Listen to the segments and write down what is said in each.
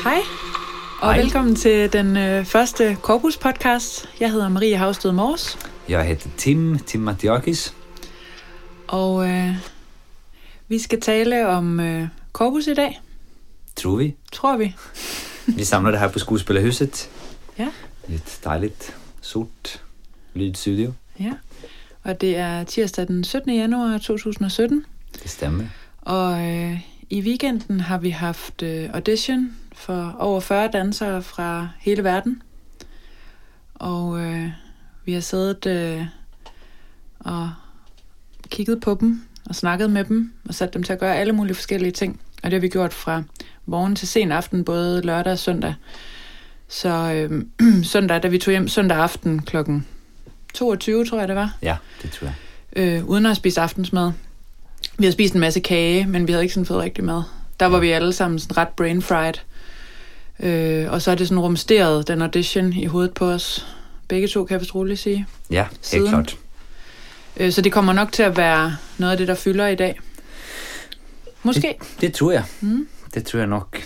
Hej, og velkommen til den første Corpus podcast. Jeg hedder Marie Havsted Mors. Jeg heter Tim Matiakis. Og vi skal tale om Corpus i dag. Tror vi. Vi samler det her på Skuespillerhuset. Ja. Et dejligt, sort lydstudio. Ja, og det er tirsdag den 17. januar 2017. Det stemmer. Og i weekenden har vi haft audition for over 40 dansere fra hele verden. Og vi har siddet og kigget på dem og snakket med dem og sat dem til at gøre alle mulige forskellige ting. Og det har vi gjort fra morgen til sen aften, både lørdag og søndag. Så søndag, da vi tog hjem søndag aften klokken 22, tror jeg det var. Ja, det tror jeg. Uden at spise aftensmad. Vi har spist en masse kage, men vi havde ikke sådan fået rigtig mad. Der var vi alle sammen sådan ret brain fried. Og så er det sådan rumsteret, den audition i hovedet på os. Begge to, kan jeg vist roligt sige. Ja, helt klart. Så det kommer nok til at være noget af det, der fylder i dag. Måske. Det tror jeg. Det tror jeg nok.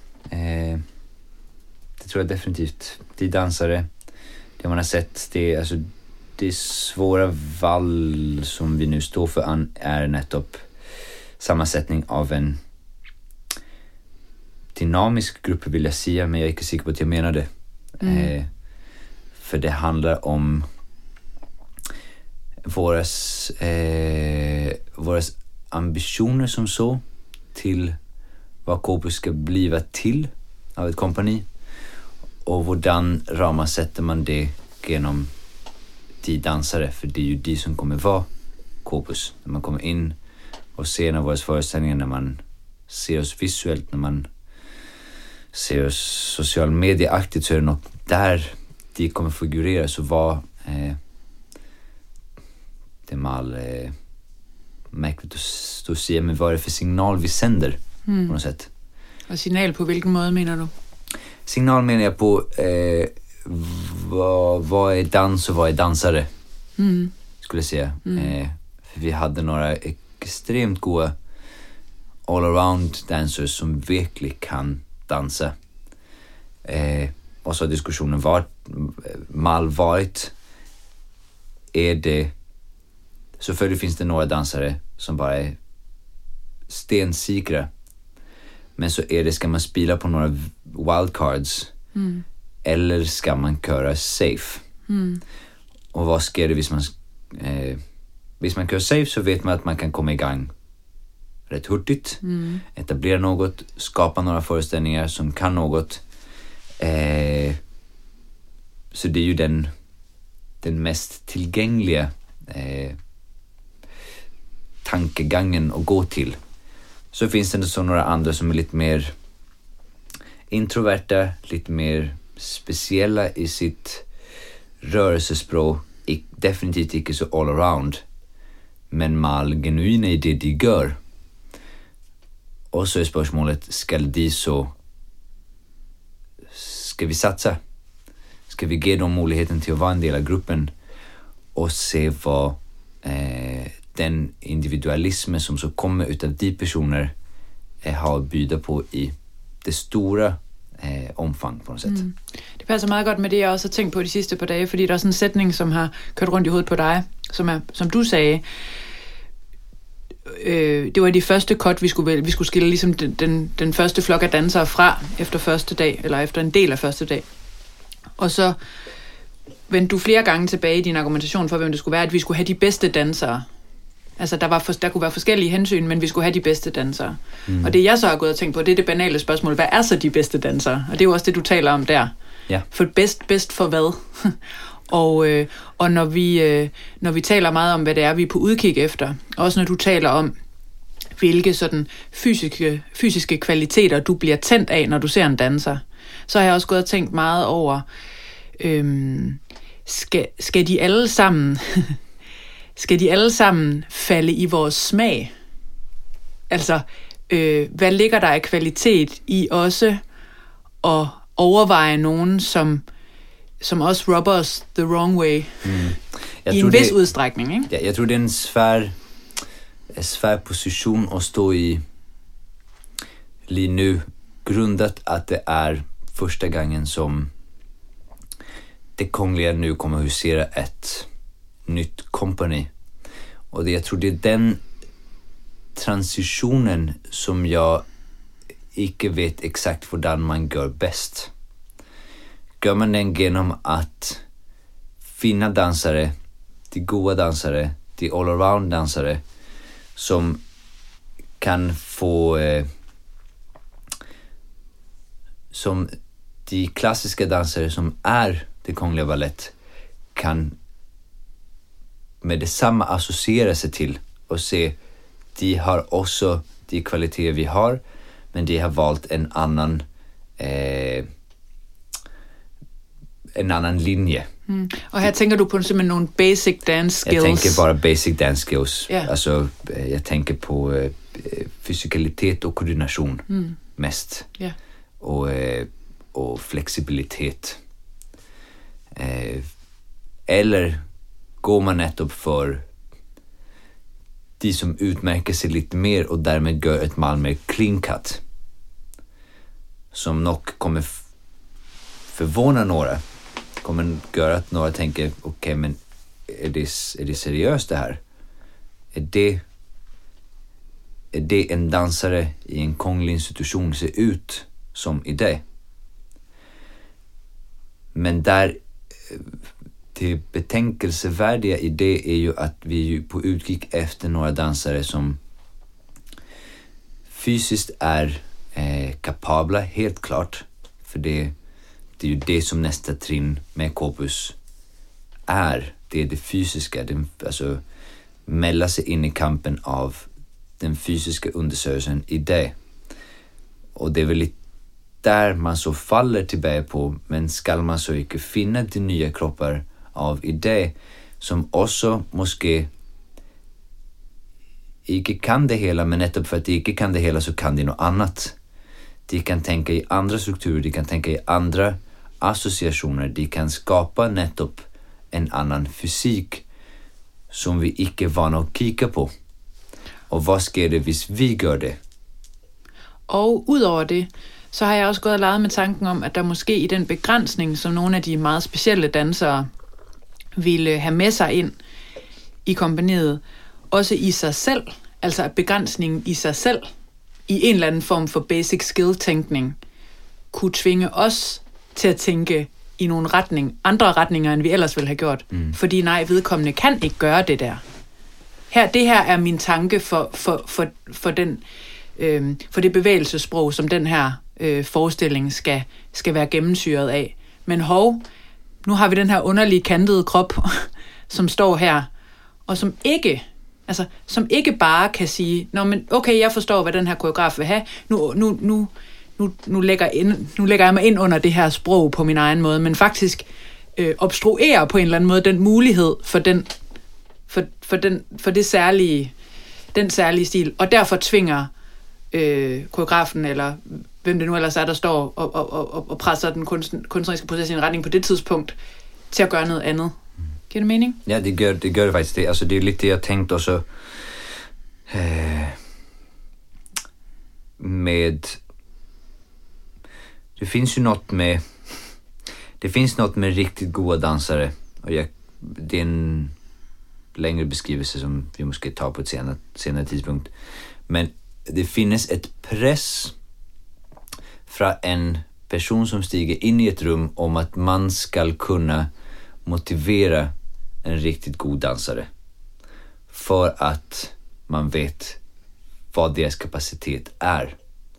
Det tror jeg definitivt. De dansare, det man har sett, det svåra val som vi nu står för är nettopp sammansättning av en dynamisk grupp, vill jag säga, men jag är inte säker på att jag menar det. För det handlar om våras ambitioner som så till vad Corpus ska bliva till av ett kompani, och hvordan sätter man det genom de dansare, för det är ju de som kommer vara Corpus. När man kommer in och ser när våra föreställningar, när man ser oss visuellt, när man ser oss social medieaktigt, så är det nog där de kommer figurera. Så vad det är mal märkligt att säga, men vad är det för signal vi sänder på något sätt? Og signal på hvilken måde, mener du? Signal menar jag på vad är dans och vad är dansare, skulle jag säga. För vi hade några extremt goda all-around dancers som verkligen kan dansa. Och så har diskussionen varit, är det, så för det finns det några dansare som bara är stensikra, men så är det, ska man spela på några wildcards, eller ska man köra safe? Och vad ska det hvis man kör safe, så vet man att man kan komma igång rätt hurtigt, etablera något, skapa några föreställningar som kan något. Så det är ju den mest tillgängliga tankegången att gå till. Så finns det så några andra som är lite mer introverta, lite mer speciella i sitt rörelsespråk, definitivt inte så all around, men mal genuina i det de gör. Och så är spörsmålet, ska vi satsa? Ska vi ge dem möjligheten till att vara en del av gruppen och se vad den individualismen som så kommer utav de personer har att bjuda på i det stora omfang på något sätt. Det passer meget godt med det, jeg også har tænkt på de sidste par dage, fordi der er sådan en sætning, som har kørt rundt i hovedet på dig, som du sagde, det var de første cut, vi skulle skille ligesom den første flok af dansere fra efter første dag, eller efter en del af første dag. Og så vendte du flere gange tilbage i din argumentation for, hvem det skulle være, at vi skulle have de bedste dansere. Altså, der kunne være forskellige hensyn, men vi skulle have de bedste dansere. Og det, jeg så har gået og tænkt på, det er det banale spørgsmål. Hvad er så de bedste dansere? Og det er jo også det, du taler om der. Ja. For bedst for hvad? Og når vi taler meget om, hvad det er, vi er på udkig efter, også når du taler om, hvilke sådan fysiske kvaliteter, du bliver tændt af, når du ser en danser, så har jeg også gået og tænkt meget over, skal de alle sammen... Skal de alle sammen falde i vores smag? Altså, hvad ligger der af kvalitet i også at overveje nogen, som også rubber os the wrong way? I en vis udstrækning, ikke? Ja, jeg tror, det er en svær position at stå i lige nu, grundat att det är första gången som det Kungliga nu kommer att husera ett nytt kompani. Och jag tror det är den transitionen som jag inte vet exakt hvordan man gör bäst. Gör man den genom att finna dansare, de goda dansare, de all-around dansare som kan få som de klassiska dansare som är det Kungliga Ballett kan med detsamma associera sig till och se de har också de kvaliteter vi har, men de har valt en annan linje. Och här tänker du på simpelthen nogle basic dance skills? Jag tänker bara basic dance skills. Yeah. Alltså, jag tänker på fysikalitet och koordination mest. Yeah. Och flexibilitet. Eller går man nettopp för de som utmärker sig lite mer och därmed gör ett mal mer clean cut. Som nog kommer förvåna några. Kommer göra att några tänker, okej, men är det seriöst det här? Är det en dansare i en kunglig institution ser ut som i det? Men där det betänkelsevärdiga i det är ju att vi ju på utgick efter några dansare som fysiskt är kapabla, helt klart. För det är ju det som nästa trin med Corpus är. Det är det fysiska. Alltså mälla sig in i kampen av den fysiska undersökelsen i det. Och det är väl lite där man så faller tillbaka på, men ska man så inte finna de nya kroppar av idé som också måske inte kan det hela, men nettopp för att de inte kan det hela så kan de något annat. De kan tänka i andra strukturer, de kan tänka i andra associationer, de kan skapa nettopp en annan fysik som vi inte är vana att kika på. Och vad sker det hvis vi gör det? Og udover det, så har jeg også gået og leget med tanken om, at der måske i den begrænsning, som nogle af de meget specielle dansere ville have med sig ind i kompaniet, også i sig selv, altså at begrænsningen i sig selv, i en eller anden form for basic skill-tænkning, kunne tvinge os til at tænke i nogle andre retninger, end vi ellers ville have gjort. Fordi nej, vedkommende kan ikke gøre det der. Det her er min tanke for det bevægelsessprog, som den her forestilling skal være gennemsyret af. Men nu har vi den her underlige kantede krop, som står her, og som ikke bare kan sige, nå, men okay, jeg forstår, hvad den her koreograf vil have, nu lægger jeg mig ind under det her sprog på min egen måde, men faktisk obstruerer på en eller anden måde den mulighed for den særlige stil, og derfor tvinger koreografen, eller hvem det nu ellers er, der står og presser den kunstneriske proces i en retning på det tidspunkt, til at gøre noget andet. Giver det mening? Ja, det gør det faktisk det. Altså, det er lidt det, jeg tænkte også med... Det finns något med riktigt goda dansare, och det är en längre beskrivelse som vi måske tar på ett senare tidspunkt. Men det finns ett press från en person som stiger in i ett rum om att man ska kunna motivera en riktigt god dansare för att man vet vad deras kapacitet är.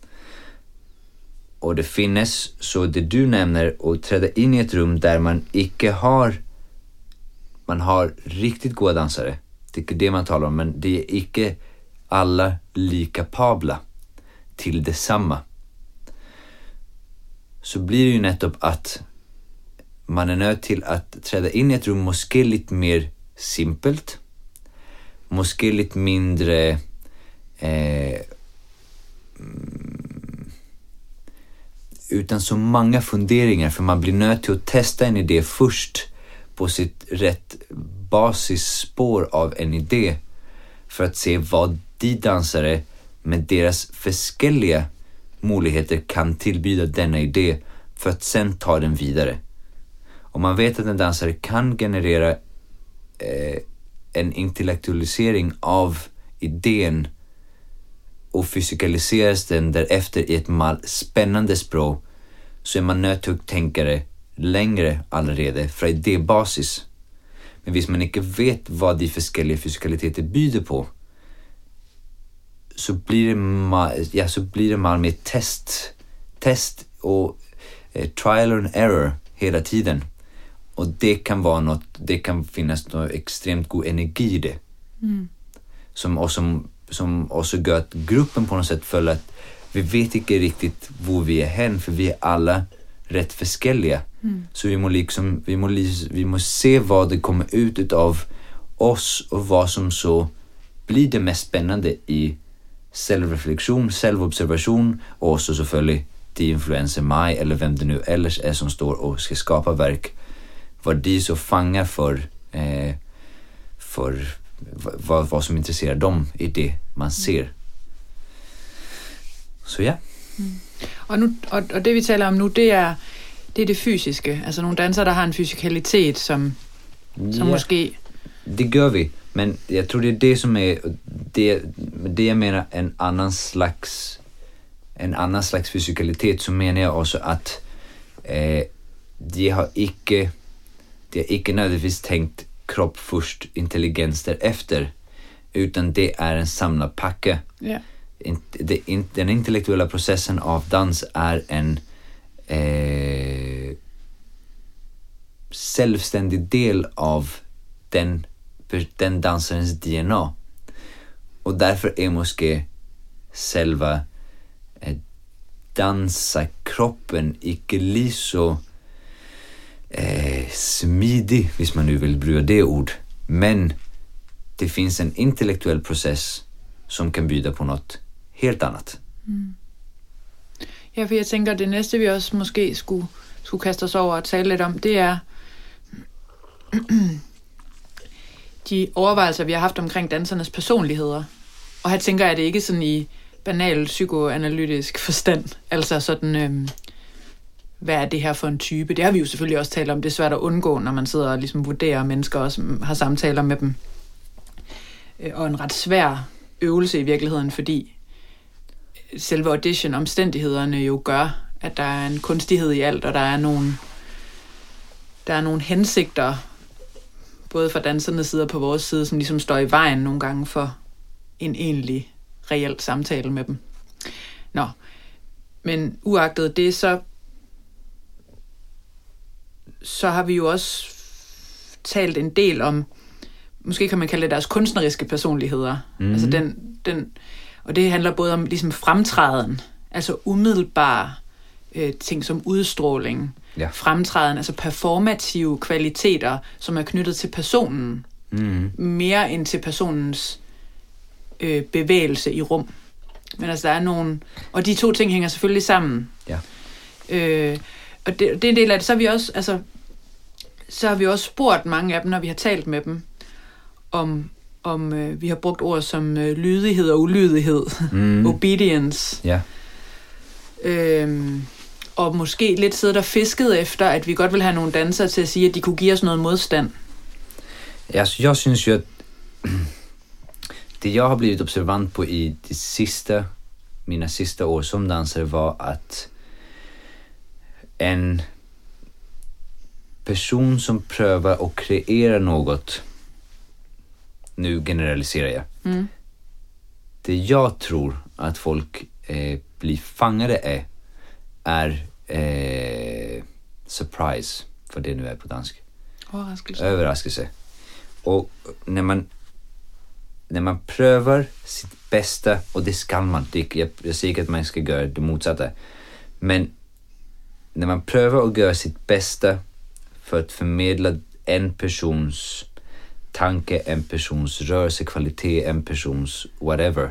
Och det finns så det du nämner att träda in i ett rum där man har riktigt goda dansare. Det är det man talar om, men det är inte alla lika kapabla till detsamma. Så blir det ju nettopp att man är nöjd till att träda in i ett rum måske lite mer simpelt, måske lite mindre utan så många funderingar, för man blir nöjd till att testa en idé först på sitt rätt basisspår av en idé för att se vad de dansare med deras förskelliga möjligheter kan tillbyda denna idé för att sen ta den vidare. Om man vet att en dansare kan generera en intellektualisering av idén och fysikaliseras den därefter i ett spännande språk, så är man nödt til at tænke det længere allerede fra idébasis. Men hvis man ikke vet hvad de forskellige fysikaliteter byder på, så bliver det meget mere test og trial and error hela tiden. Och det kan vara något, det kan finnas något extremt god energi i det. Som också gör att gruppen på något sätt följer att vi vet inte riktigt var vi är hen, för vi är alla rätt förskelliga. Så vi må se vad det kommer ut av oss och vad som så blir det mest spännande i självreflektion, självobservation och också selvfølgelig de influenser mig eller vem det nu ellers är som står och ska skapa verk. Vad de så fangar för vad som intresserar dem i det man ser. Så ja. Og det vi taler om nu, det er det fysiske. Altså nogle dansere, der har en fysikalitet, som måske... Det gør vi, men jeg tror det er det som er det jeg mener en annan slags fysikalitet, så mener jeg også at de har ikke nødvendigvis tænkt kropp först, intelligens därefter, utan det är en samlad pakke. Yeah. Den intellektuella processen av dans är en självständig del av den dansarens DNA. Och därför är måske själva dansarkroppen ikke lige så smidig, hvis man nu vill bruka det ord. Men det finns en intellektuell process som kan byda på något helt annat. Ja, for jeg tænker, det næste vi også måske skulle kaste os over og tale lidt om, det er de overvejelser, vi har haft omkring dansernes personligheder. Og her tænker jeg, det ikke sådan i banal psykoanalytisk forstand, altså sådan... hvad er det her for en type? Det har vi jo selvfølgelig også talt om. Det er svært at undgå, når man sidder og ligesom vurderer mennesker og har samtaler med dem. Og en ret svær øvelse i virkeligheden, fordi selve audition-omstændighederne jo gør, at der er en kunstighed i alt, og der er nogle hensigter, både fra dansernes side og på vores side, som ligesom står i vejen nogle gange for en egentlig, reel samtale med dem. Nå, men uagtet det, så har vi jo også talt en del om, måske kan man kalde det deres kunstneriske personligheder. Altså den, og det handler både om ligesom fremtræden, altså umiddelbare ting som udstråling, fremtræden, altså performative kvaliteter, som er knyttet til personen, mere end til personens bevægelse i rum. Men altså der er nogle, og de to ting hænger selvfølgelig sammen. Ja. Og det er en del af det. Så har vi også spurgt mange af dem, når vi har talt med dem, om vi har brugt ord som lydighed og ulydighed, obedience. Ja. Og måske lidt siddet og fisket efter, at vi godt vil have nogle dansere til at sige, at de kunne give os noget modstand. Jeg synes jo, at det jeg har blivit observant på i mina sista år som dansare var att en person som prövar att kreera något, nu generaliserar jag, det jag tror att folk blir fångade är surprise, för det nu är på dansk. Överraskelse. Och när man prövar sitt bästa, och det ska man, jag säger att man ska göra det motsatta, men när man prövar att göra sitt bästa för att förmedla en persons tanke, en persons rörelsekvalitet, en persons whatever,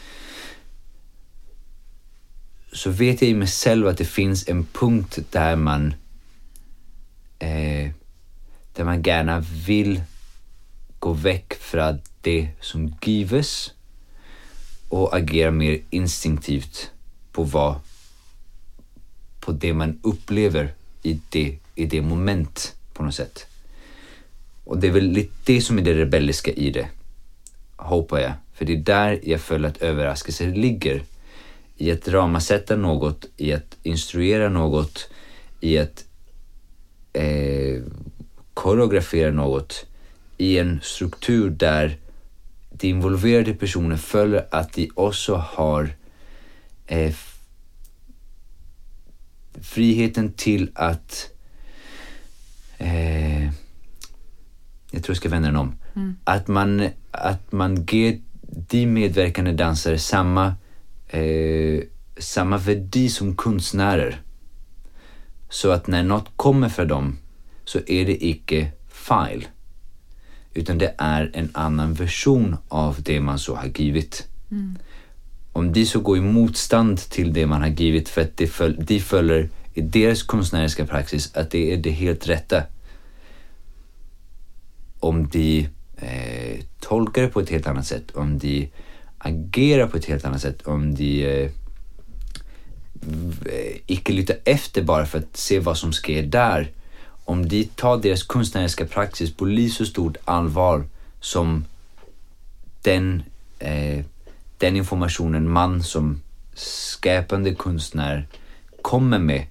så vet jag i mig själv att det finns en punkt där man gärna vill gå väck från det som gives och agera mer instinktivt på vad på det man upplever i det moment på något sätt. Och det är väl lite det som är det rebelliska i det, hoppas jag. För det är där jag följer att överraskelse ligger. I att ramasätta något, i att instruera något, i att koreografera något i en struktur där de involverade personer följer att de också har friheten till att jag tror jag ska vända den om. Att man ger de medverkande dansare samma värde som konstnärer. Så att när något kommer för dem så är det icke fel. Utan det är en annan version av det man så har givit. Om de så går i motstånd till det man har givit för att de följer i deras konstnärliga praxis att det är det helt rätta. Om de tolkar det på ett helt annat sätt, om de agerar på ett helt annat sätt, om de icke lyssnar efter bara för att se vad som sker där, om de tar deras konstnärliga praxis på lika så stort allvar som den informationen man som skapande konstnär kommer med,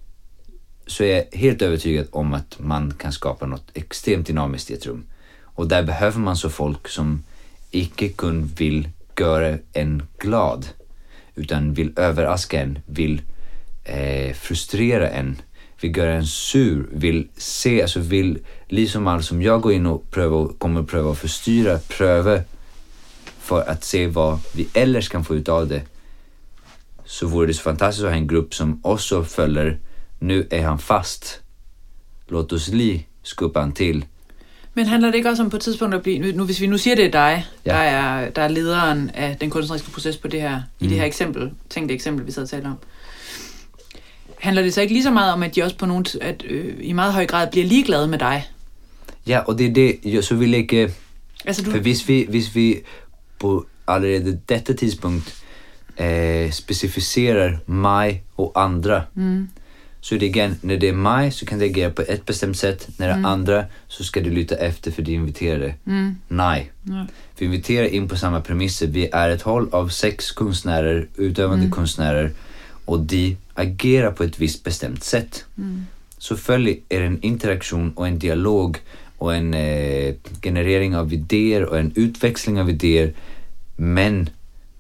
så är jag helt övertygad om att man kan skapa något extremt dynamiskt i ett rum. Och där behöver man så folk som icke kun vill göra en glad, utan vill överraska en, vill frustrera en, vill göra en sur, vill se, alltså vill, liksom allt som jag går in och kommer pröva att förstyra, pröva för att se vad vi ellers kan få ut av det. Så vore det så fantastiskt att ha en grupp som också följer, nu är han fast, låt oss skubba han till. Men handler det ikke også om på et tidspunkt at blive, nu hvis vi nu siger, det er dig, der er lederen af den kunstneriske proces på det her, i det her eksempel, tænkte eksempel, vi sad og talte om. Handler det så ikke lige så meget om, at de også på nogen, i meget høj grad bliver ligeglade med dig? Ja, og det er det, så vil jeg ikke, for hvis vi på allerede detta tidspunkt specificerar mig och andra, så är det igen, när det är mig så kan det agera på ett bestämt sätt, när det är andra så ska du lyssna efter för de inviterade. Nej. Vi inviterar in på samma premisser. Vi är ett håll av 6 konstnärer, utövande konstnärer, och de agerar på ett visst bestämt sätt. Så följer är en interaktion och en dialog och en generering av idéer och en utväxling av idéer, men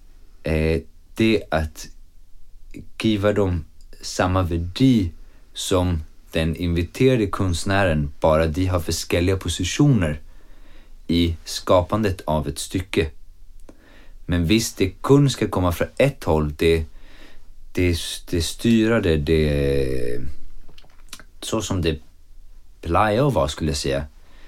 det att giva dem samma värde som den inviterade konstnären, bara de har olika positioner i skapandet av ett stycke. Men visst, det kun ska komma från ett håll, det styrade, det så som det plejer att vara, skulle jag säga,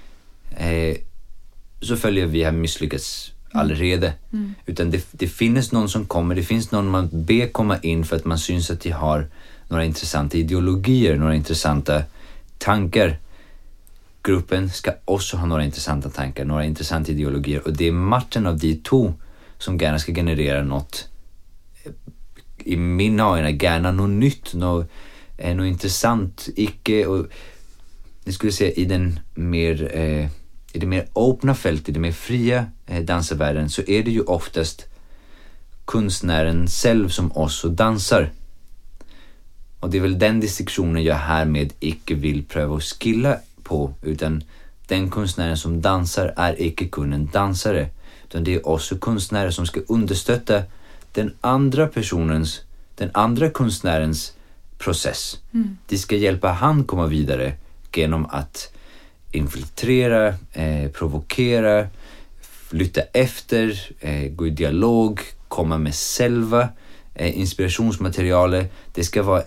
så följer vi har misslyckats allerede. Utan det finns någon som kommer, det finns någon man ber komma in för att man syns att de har några intressanta ideologier, några intressanta tankar. Gruppen ska också ha några intressanta tankar, några intressanta ideologier, och det är matchen av de två som gärna ska generera något, i mina ögon gärna något nytt, något intressant, icke, och det skulle säga i den mer i det mer öppna fält, i det mer fria dansarvärlden, så är det ju oftast konstnären själv som också dansar. Och det är väl den distinktionen jag härmed icke vill pröva att skilla på, utan den konstnären som dansar är icke kun en dansare, utan det är också konstnärer som ska understötta den andra konstnärens process. De ska hjälpa han komma vidare genom att infiltrera, provokera, lyssna efter, gå i dialog, komma med själva inspirationsmaterialet. Det ska vara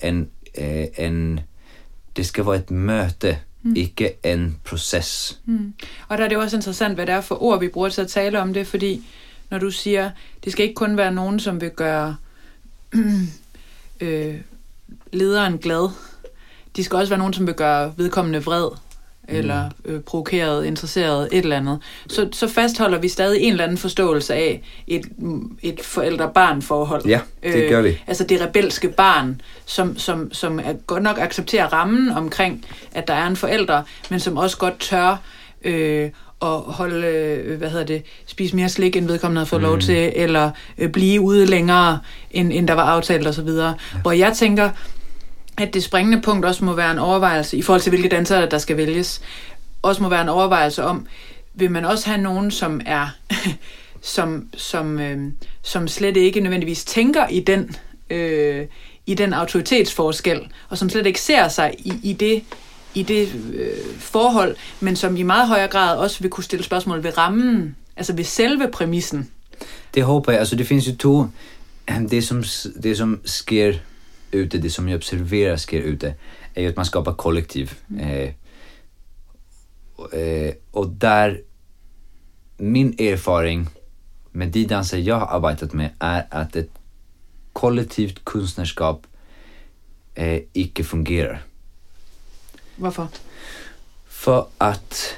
det ska vara ett möte, ikke en proces. Og der er det også interessant, hvad det er for ord, vi bruger til at tale om det, fordi når du siger, det skal ikke kun være nogen, som vil gøre lederen glad. De skal også være nogen, som vil gøre vedkommende vred. eller provokeret, interesseret, et eller andet, så fastholder vi stadig en eller anden forståelse af et forældre-barn-forhold. Ja, det gør vi. Altså det rebelske barn, som er godt nok accepterer rammen omkring, at der er en forælder, men som også godt tør og holde, spise mere slik, end vedkommende havde fået lov til, eller blive ude længere, end der var aftalt osv. Ja. Hvor jeg tænker, at det springende punkt også må være en overvejelse, i forhold til hvilke dansere, der skal vælges, også må være en overvejelse om, vil man også have nogen, som er, som slet ikke nødvendigvis tænker i den autoritetsforskel, og som slet ikke ser sig i det forhold, men som i meget højere grad også vil kunne stille spørgsmål ved rammen, altså ved selve præmissen. Det håber jeg. Altså det finns ju to, det som sker ute, det som jag observerar sker ute, är ju att man skapar kollektiv. Och där min erfaring med de danser jag har arbetat med är att ett kollektivt konstnärskap icke fungerar. Hvorfor? För att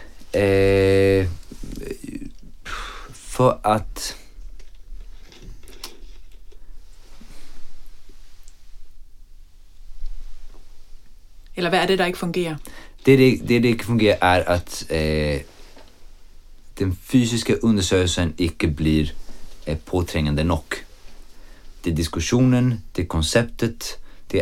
eller hvad er det, der ikke fungerer? Det ikke fungerer, er at den fysiske undersøgelsen ikke blir påtrængende nok. Det er diskussionen, det er konceptet, det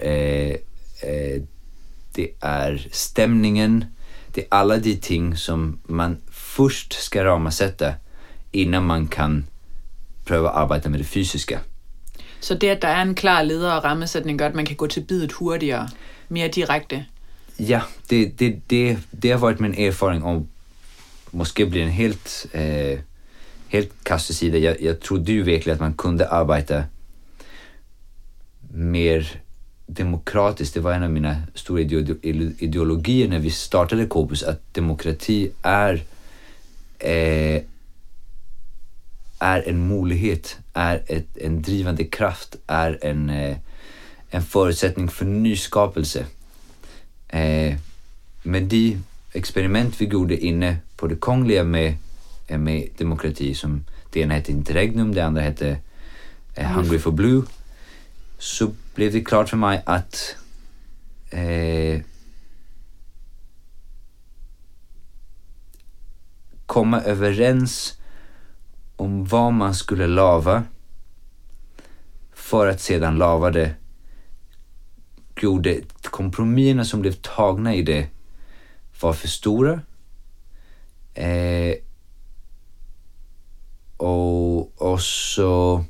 er stemningen, det er alle de ting, som man først skal rammesætte, innan man kan prøve at arbejde med det fysiske. Så det, at der er en klar leder og rammesætning, gør, at man kan gå til bidet hurtigere, mere direkte? Ja, det har varit min erfaring, og måske blir en helt kastesida. Jag trodde ju verkligen att man kunde arbeta mer demokratiskt. Det var en av mina stora ideologier när vi startade Corpus, att demokrati är en möjlighet, är en drivande kraft, är en förutsättning för nyskapelse. Med de experiment vi gjorde inne på det kongliga med demokrati, som det ena hette Interregnum, det andra hette Hungry for Blue, så blev det klart för mig att komma överens om vad man skulle lava för att sedan lava det, gjorde kompromisserna som blev tagna i det var för stora, och så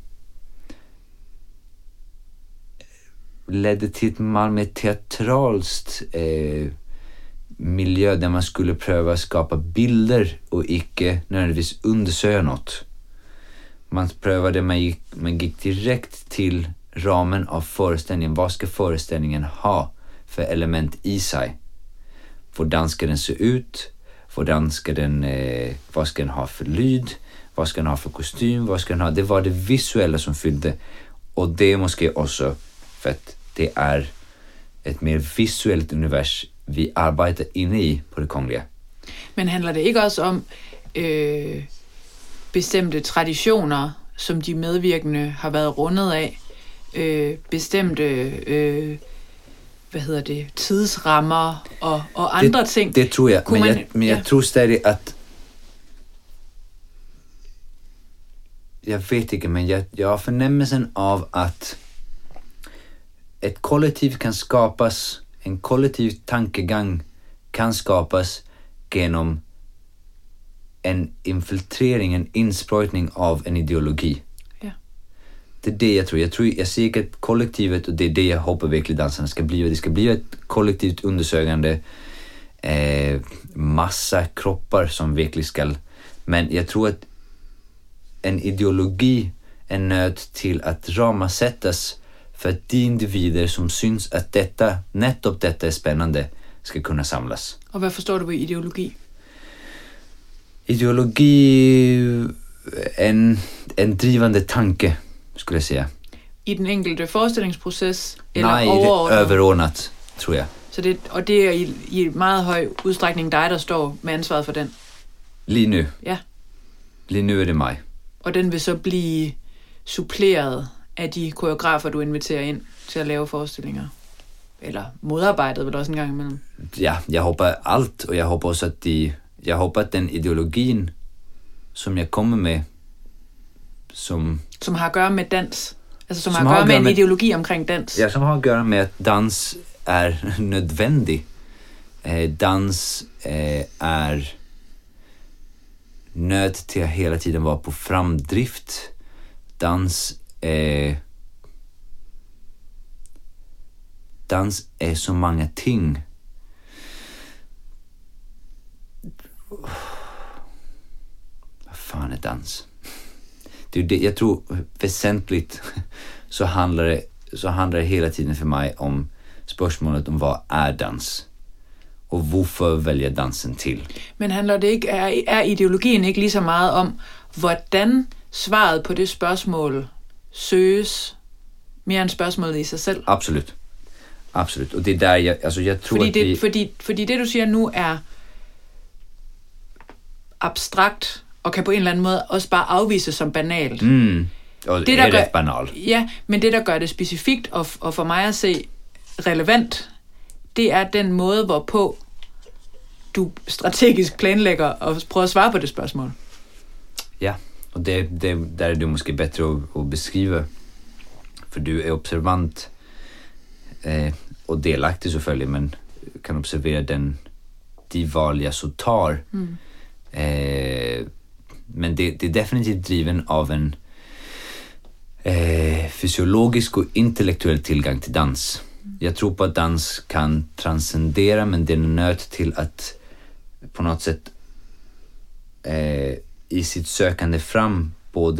ledde till ett mer teatralst miljö där man skulle pröva skapa bilder och icke nödvändigtvis undersöka något. Man prövade, man gick direkt till ramen av föreställningen. Vad ska föreställningen ha för element i sig? Hvordan ska den se ut? Hvordan ska den, vad ska den ha för lyd? Vad ska den ha för kostym? Vad ska den ha? Det var det visuella som fyllde. Och det är måske också för att det är ett mer visuellt univers vi arbetar inne i på det kongliga. Men handler det ikke også om bestemte traditioner, som de medvirkende har været rundet af? Bestemte tidsrammer og andre ting? Det tror jeg, men jeg tror stadig, at jeg vet ikke, men jeg har fornemmelsen av at ett kollektiv kan skapas, en kollektiv tankegang kan skapas genom en infiltrering, en insprøjtning av en ideologi. Ja. Det är det jag tror. Jag ser inte ett kollektivet, och det är det jag hoppas verkligen dansarna ska bli. Det ska bli ett kollektivt undersökande massa kroppar som verkligen ska. Men jag tror att en ideologi är nöd till att ramasättas för att de individer som syns att nettopp detta är spännande ska kunna samlas. Och vad förstår du ved ideologi? Ideologi en drivande tanke, skulle jag säga. I den enkelte forestillingsproces? Eller nej, overordnet? överordnat, tror jag. Så det er i meget høj udstrækning dig, der står med ansvaret for den. Lige nu. Ja. Lige nu er det mig. Og den vil så blive suppleret af de koreografer, du inviterer ind til at lave forestillinger. Eller modarbejdet vel også en gang imellem. Ja, jeg håber alt, og jeg håber også, at den ideologien, som jeg kommer med, som har at gøre med dans. Altså som har at gøre med en ideologi omkring dans. Ja, som har att göra med att dans är nödvändig. Dans är nöd till att hela tiden vara på framdrift. Dans är så många ting. Vad fan är dans? Det är det, jag tror väsentligt så handlar det hela tiden för mig om spørgsmålet om vad är dans och hvorfor vælger dansen til. Men handler det ikke, er ideologien ikke lige så meget om, hvordan svaret på det spørgsmål søges, mere end spørgsmålet i sig selv? Absolut. Absolut. Og det er der, jeg tror, fordi det, du siger nu, er abstrakt, og kan på en eller anden måde også bare afvises som banalt. Og det er ret banalt. Ja, men det, der gør det specifikt, og for mig at se relevant, det er den måde, hvorpå du strategisk planlægger og prøver at svare på det spørgsmål. Ja, og der er det måske bedre at beskrive, for du er observant og delagtig selvfølgelig, men kan observere de valg jeg så tar. Men det er definitivt driven av en fysiologisk og intellektuell tilgang til dans. Jag tror på att dans kan transcendera, men det är nöt till att på något sätt i sitt sökande fram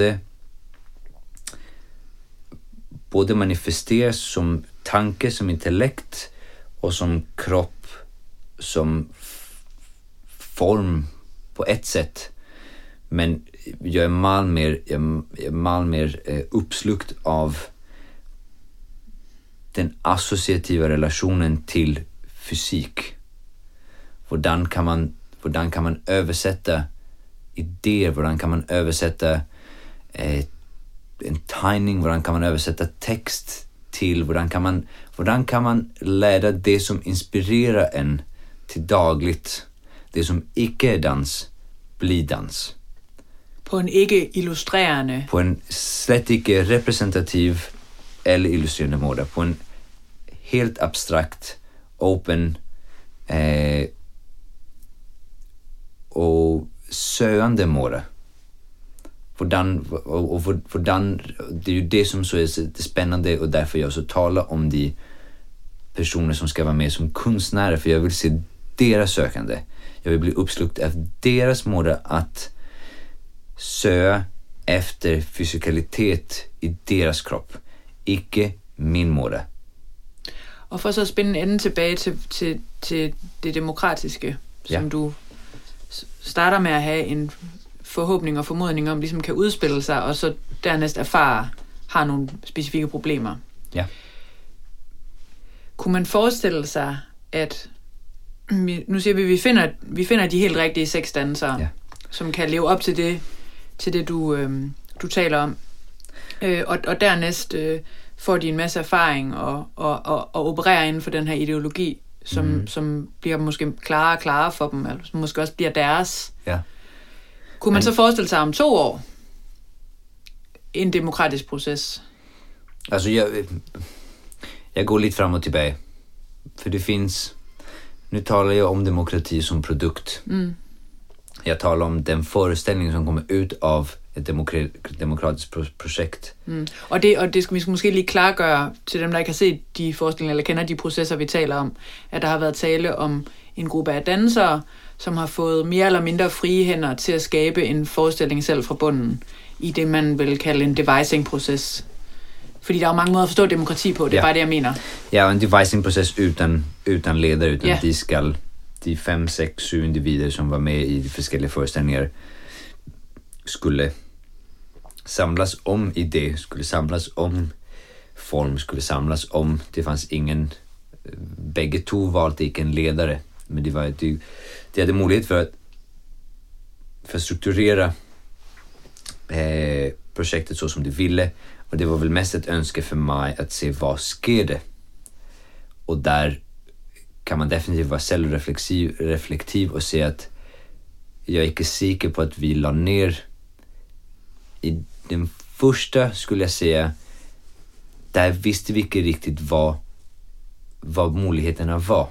både manifesteras som tanke, som intellekt och som kropp, som form på ett sätt. Men jag är mal mer uppslukt av den associativa relationen till fysik. Hvordan kan man översätta idéer, hvordan kan man översätta en tegning, hvordan kan man översätta text till, hvordan kan man lära det som inspirerar en till dagligt, det som ikke er dans, bli dans. På en ikke illustrerende. På en slet ikke representativ eller illustrerende måde. På en helt abstrakt, open og søgende måde. Hvordan, det er jo det som så er det spændende, og derfor jeg også taler om de personer som skal være med som kunstnere, for jeg vil se deres søkende. Jeg vil bli uppslukt af deres måde at søge efter fysikalitet i deres krop, ikke min måde. Og for så at spænde enden tilbage til det demokratiske, som du starter med at have en forhåbning og formodning om, ligesom kan udspille sig, og så dernæst har nogle specifikke problemer. Ja. Kunne man forestille sig, at nu siger vi finder de helt rigtige sexdansere, som kan leve op til det du taler om, og dernæst får de en masse erfaring og opererer inden for den her ideologi, som bliver måske klarere og klarere for dem, eller som måske også bliver deres. Ja. Kunne man så forestille sig om 2 år en demokratisk proces? Altså, jeg går lidt frem og tilbage. For det finns... Nu talar jag om demokrati som produkt. Jag talar om den föreställning som kommer ut av ett demokratiskt projekt. Og det skal vi måske lige klargøre til dem, der ikke har set de forestillinger eller kender de processer, vi taler om, at der har været tale om en gruppe af dansere, som har fået mere eller mindre frie hænder til at skabe en forestilling selv fra bunden i det, man vil kalde en devising-proces. Fordi der er jo mange måder at forstå demokrati på, det er bare det, jeg mener. Ja, og en devising-proces utan ledare, utan de 5, 6, 7 individer som var med i de forskellige forestillinger skulle samlas om idé, skulle samlas om form, skulle samlas om, det fanns ingen bägge två valde inte en ledare. Men det var de hade möjlighet för att strukturera projektet så som de ville. Och det var väl mest ett önske för mig att se vad sker det. Och där kan man definitivt vara självreflektiv och se att jag är inte säker på att vi la ner i den första, skulle jag säga, där visste vi inte riktigt vad möjligheterna var.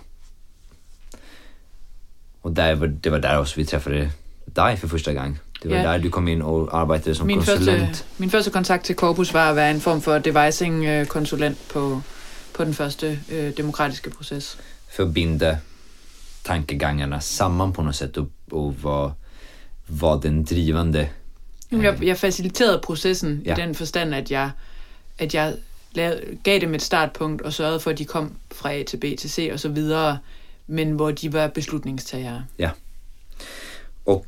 Och det var där också vi träffade dig för första gången. Det var där du kom in och arbetade som konsulent. Min første kontakt til Corpus var at være en form for devising-konsulent på den første demokratiske proces. Förbinda tankegångarna samman på något sätt och var den drivande. Jeg faciliterede processen i den forstand, at jeg gav dem et startpunkt og sørgede for, at de kom fra A til B til C og så videre, men hvor de var beslutningstagere. Ja. Och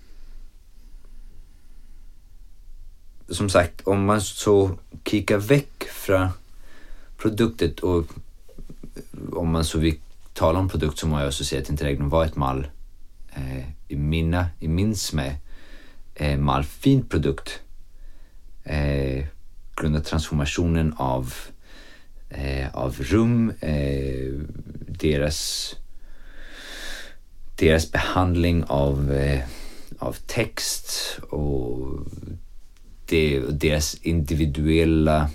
som sagt, om man så kikar väck från produktet och om man så vill tala om produkt, så må jag också säga att Interregnum var ett mall i min smed mall fint produkt grundat transformationen av rum, deras behandling av text och deras individuella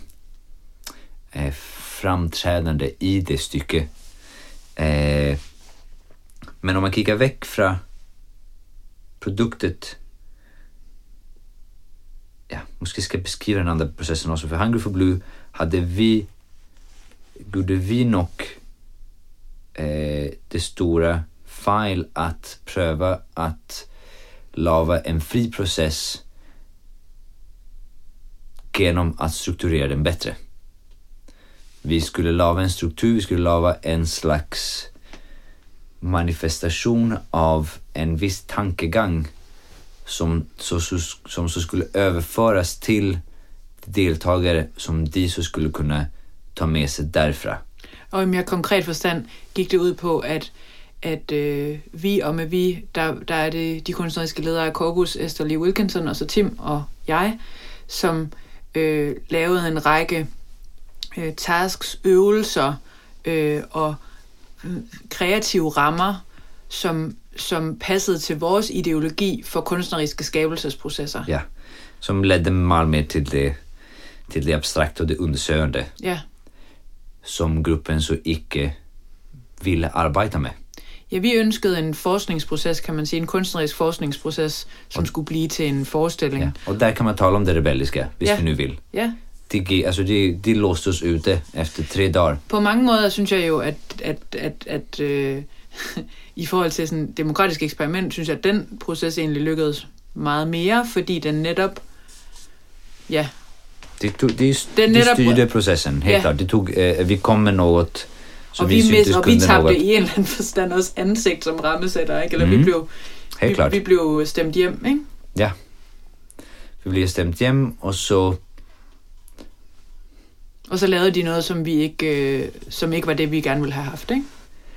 framträdande i det stycket. Men om man kikar väck från produktet, måske ska jag beskriva den andra processen också. För Hungry for Blue gjorde vi nog det stora fel att pröva att lava en fri process genom att strukturera den bättre. Vi skulle lava en struktur, vi skulle lava en slags manifestation av en viss tankegång som så skulle överföras till deltagare som de så skulle kunna ta med sig därifrån. Og i mere konkret forstand gik det ud på, at vi, og med vi, der er det de kunstneriske ledere af Corpus, Esther Lee Wilkinson og så Tim og jeg, som lavede en række tasks, øvelser og kreative rammer, som passede til vores ideologi for kunstneriske skabelsesprocesser. Ja, som ledde meget mere til det abstrakte og det undersøgende. Ja. Som gruppen så ikke ville arbejde med. Ja, vi ønskede en forskningsproces, kan man sige, en kunstnerisk forskningsproces, som skulle blive til en forestilling. Ja, og der kan man tale om det rebelliske, hvis vi nu vil. Ja. De låste oss ute efter 3 dagar. På mange måder synes jeg jo, at i forhold til sådan et demokratisk eksperiment, synes jeg, at den proces egentlig lykkedes meget mere, fordi den netop, Det styrde processen, helt klart. Det tog, vi kom med noget, som vi syntes kunne noget. Og vi tabte i en eller anden forstand også ansigt som rammesætter, ikke? Eller vi blev stemt hjem, ikke? Ja. Vi blev stemt hjem, og så lavede de noget, som ikke var det, vi gerne ville have haft, ikke?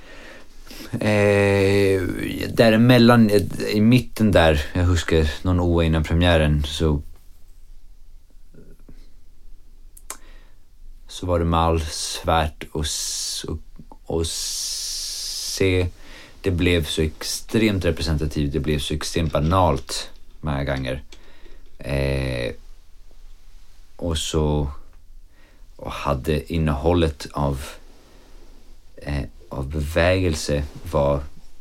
Däremellan, i mitten där, jag huskar någon år innan premiären, så var det mal svärt att se. Det blev så extremt representativt, det blev så extremt banalt många gånger. Och hade innehållet av bevägelse var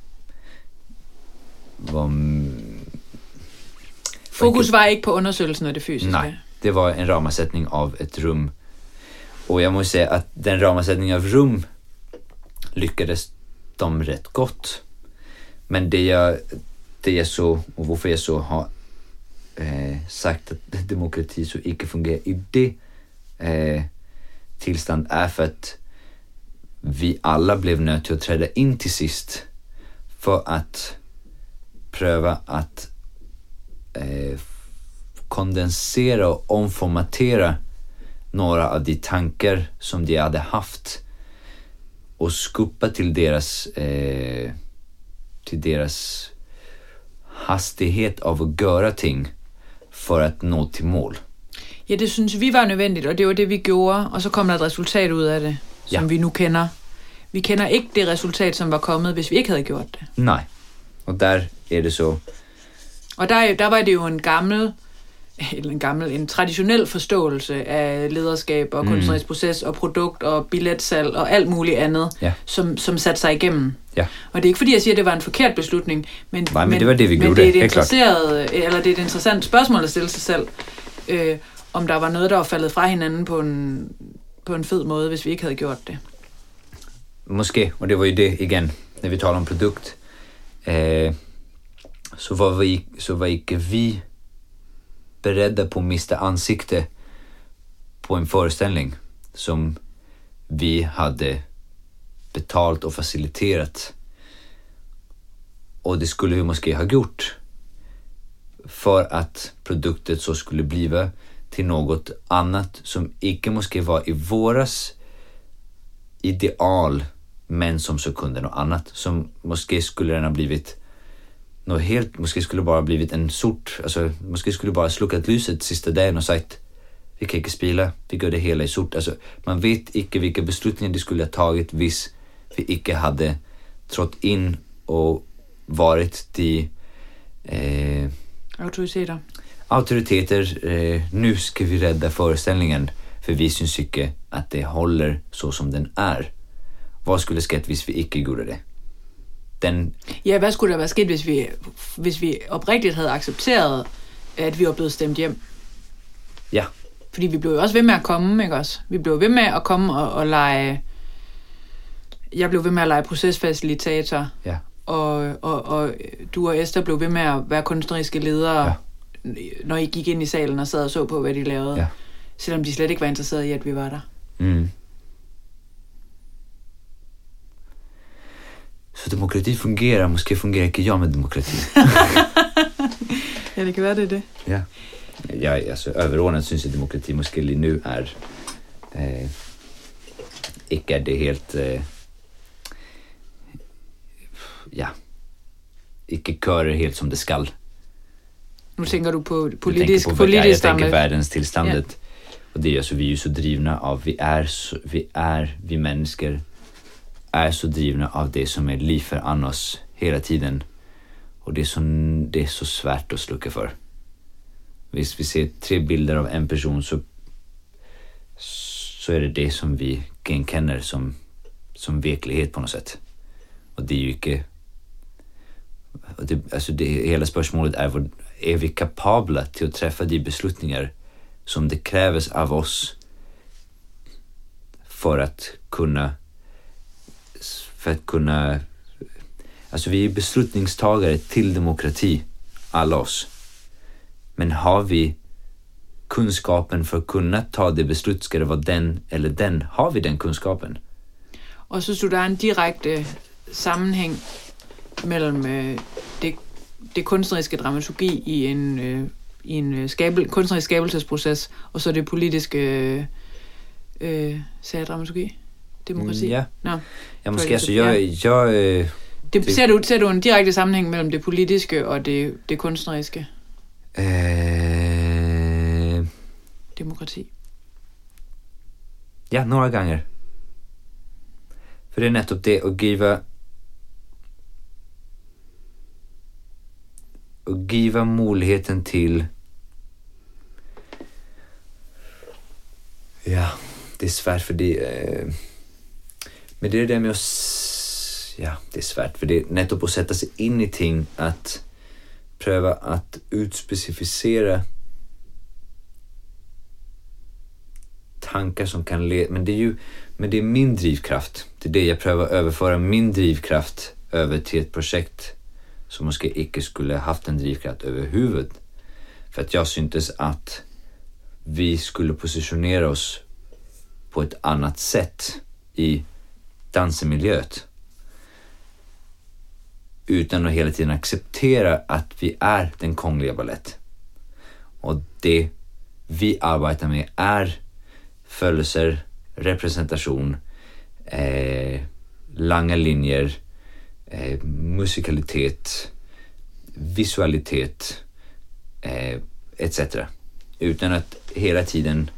fokus var ikke på undersøgelsen af det fysiske. Nej, det var en ramsättning av ett rum. Och jag måste säga att den ramsättningen av rum lyckades de rätt gott. Men det jag så, och varför jag så har sagt att demokrati så inte fungerar i det tillstånd är för att vi alla blev nödt till att träda in till sist för att pröva att kondensera och omformatera några av de tankar som de hade haft och skuppa till deras hastighet av at gøre ting for at nå til mål. Ja, det synes vi var nødvendigt, og det var det, vi gjorde, og så kom der et resultat ud af det, som vi nu kender. Vi kender ikke det resultat, som var kommet, hvis vi ikke havde gjort det. Nej, og der er det så. Og der var det jo en traditionel forståelse af lederskab og kunstnerisk proces og produkt og billetsalg og alt muligt andet, som satte sig igennem. Ja. Og det er ikke fordi, jeg siger, at det var en forkert beslutning, men det var det, vi gjorde. Men det er et interessant spørgsmål at stille sig selv, om der var noget, der var faldet fra hinanden på en fed måde, hvis vi ikke havde gjort det. Måske, og det var jo det igen, når vi taler om produkt, så var ikke vi beredda på at miste ansikte på en föreställning som vi hade betalt och faciliterat, och det skulle vi måske ha gjort för att produktet så skulle bliva till något annat som ikke måske var i våras ideal, men som så kunde något annat, som måske skulle den ha blivit något helt, måske skulle bara blivit en sort, alltså måske skulle bara slukkat lyset sista dagen och sagt vi kan ikke spela, vi gör det hela i sort. Alltså man vet ikke vilka beslutningar det skulle ha tagit hvis vi ikke hade trådt in och varit de autoriteter. Nu ska vi rädda föreställningen, för vi syns ikke att det håller så som den är. Vad skulle skett hvis vi ikke gjorde det? Ja, hvad skulle der være sket, hvis vi oprigtigt havde accepteret, at vi var blevet stemt hjem? Ja. Fordi vi blev jo også ved med at komme, ikke også? Vi blev ved med at komme og lege. Jeg blev ved med at lege procesfacilitator. Ja. Og du og Esther blev ved med at være kunstneriske ledere, når I gik ind i salen og sad og så på, hvad de lavede. Ja. Selvom de slet ikke var interesserede i, at vi var der. Mm. Så demokrati fungerer, måske fungerer ikke jeg med demokrati. Ja, det kan være, det er det. Ja. Altså, overordnet synes jeg, demokrati måske lige nu er ikke er det helt ikke kører helt som det skal. Nu tænker du på politisk jeg tænker verdens tilstandet. Ja. Og det er altså, vi er så drivne av, vi mennesker är så drivna av det som är liv för annars hela tiden, och det är så svärt att slucka för. Hvis vi ser 3 bilder av en person, så är det som vi genkänner som verklighet på något sätt. Och det är ju inte, hela spörsmålet är vi kapabla till att träffa de beslutningar som det krävs av oss för att kunna, alltså vi är beslutningstagare till demokrati, alla oss. Men har vi kunskapen för att kunna ta det beslut, ska det vara den eller den? Har vi den kunskapen? Og så synes du, der er en direkte sammenhæng mellem det kunstneriske dramaturgi i en kunstnerisk skabelsesproces, og så det politiske dramaturgi? Demokrati? Ja. No. Ja, måske altså, ser du en direkte sammenhæng mellem det politiske og det kunstneriske? Demokrati. Ja, några gånger. För det är nettopp det att giva möjligheten till. Ja, det är svårt för det. Men det är det med att, det är svårt för det nettopp att sätta sig in i ting, att pröva att utspecificera tankar som kan leda, men det är min drivkraft. Det är det jag prövar överföra min drivkraft över till ett projekt som måske ikke skulle haft en drivkraft över huvudet. För att jag syntes att vi skulle positionera oss på ett annat sätt i dansmiljöet, utan att hela tiden acceptera att vi är den kongliga ballett. Och det vi arbetar med är födelser, representation, långa linjer, musikalitet, visualitet, etc. Utan att hela tiden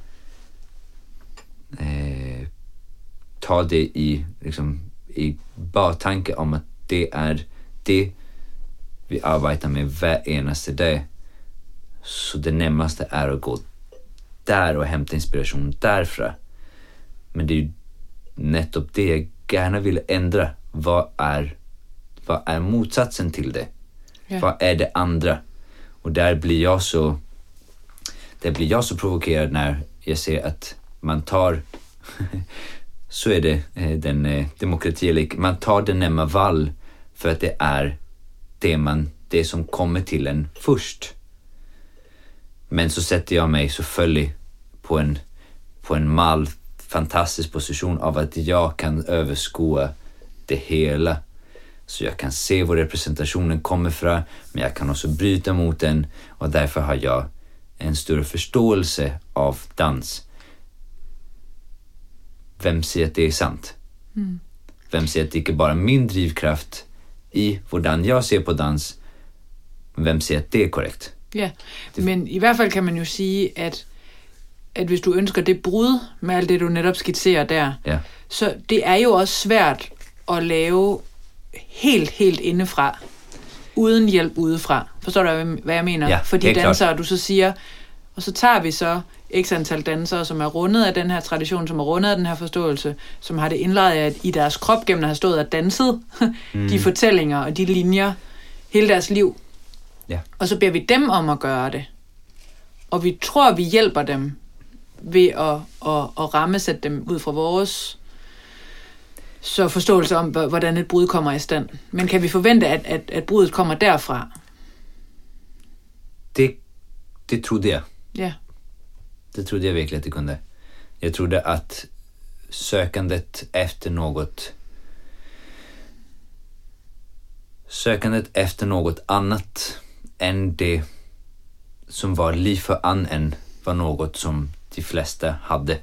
ta det i baktanke om att det är det vi arbetar med var enaste dag. Så det närmaste är att gå där och hämta inspiration därifrån. Men det är ju nettopp det jag gärna vill ändra. Vad är motsatsen till det? Yeah. Vad är det andra? Och där blir jag så provokerad när jag ser att man tar så är det den demokrati, man tar den nämma vall för att det är det som kommer till en först. Men så sätter jag mig så följ på en mall, fantastisk position av att jag kan överskåda det hela. Så jag kan se var representationen kommer från, men jag kan också bryta mot den, och därför har jag en större förståelse av dans. Vem säger att det är sant? Vem säger att det inte bara är min drivkraft i hvordan jag ser på dans? Vem säger att det är korrekt? Ja, men i hvert fald kan man jo sige, at hvis du ønsker det brud med alt det, du netop skitserer der, ja. Så det er jo også svært at lave helt indefra, uden hjælp udefra. Forstår du, hvad jeg mener? Ja, fordi dansere, du så siger, og så tager vi så x antal dansere, som er rundet af den her tradition, som er rundet af den her forståelse, som har det indlejret i deres krop gennem at have stået og danset de fortællinger og de linjer hele deres liv. Ja. Og så beder vi dem om at gøre det. Og vi tror, vi hjælper dem ved at rammesætte dem ud fra vores så forståelse om, hvordan et brud kommer i stand. Men kan vi forvente, at brudet kommer derfra? Det trodde jag. Ja. Det trodde jag verkligen att det kunde. Jag trodde att sökandet efter något annat än det som var liv för annen var något som de flesta hade.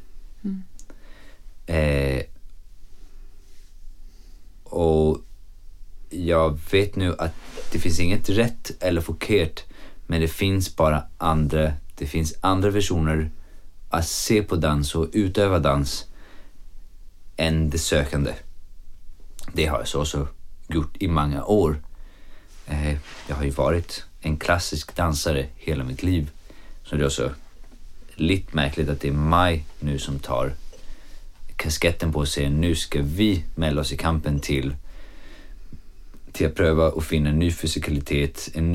Och jag vet nu att det finns inget rätt eller förkert, men det finns bara andra versioner att se på dans och utöva dans än det sökande. Det har jag så också gjort i många år. Jag har ju varit en klassisk dansare hela mitt liv. Så det är också lite märkligt att det är mig nu som tar kasketten på sig. Nu ska vi mälla oss i kampen till att pröva att finna en ny fysikalitet, en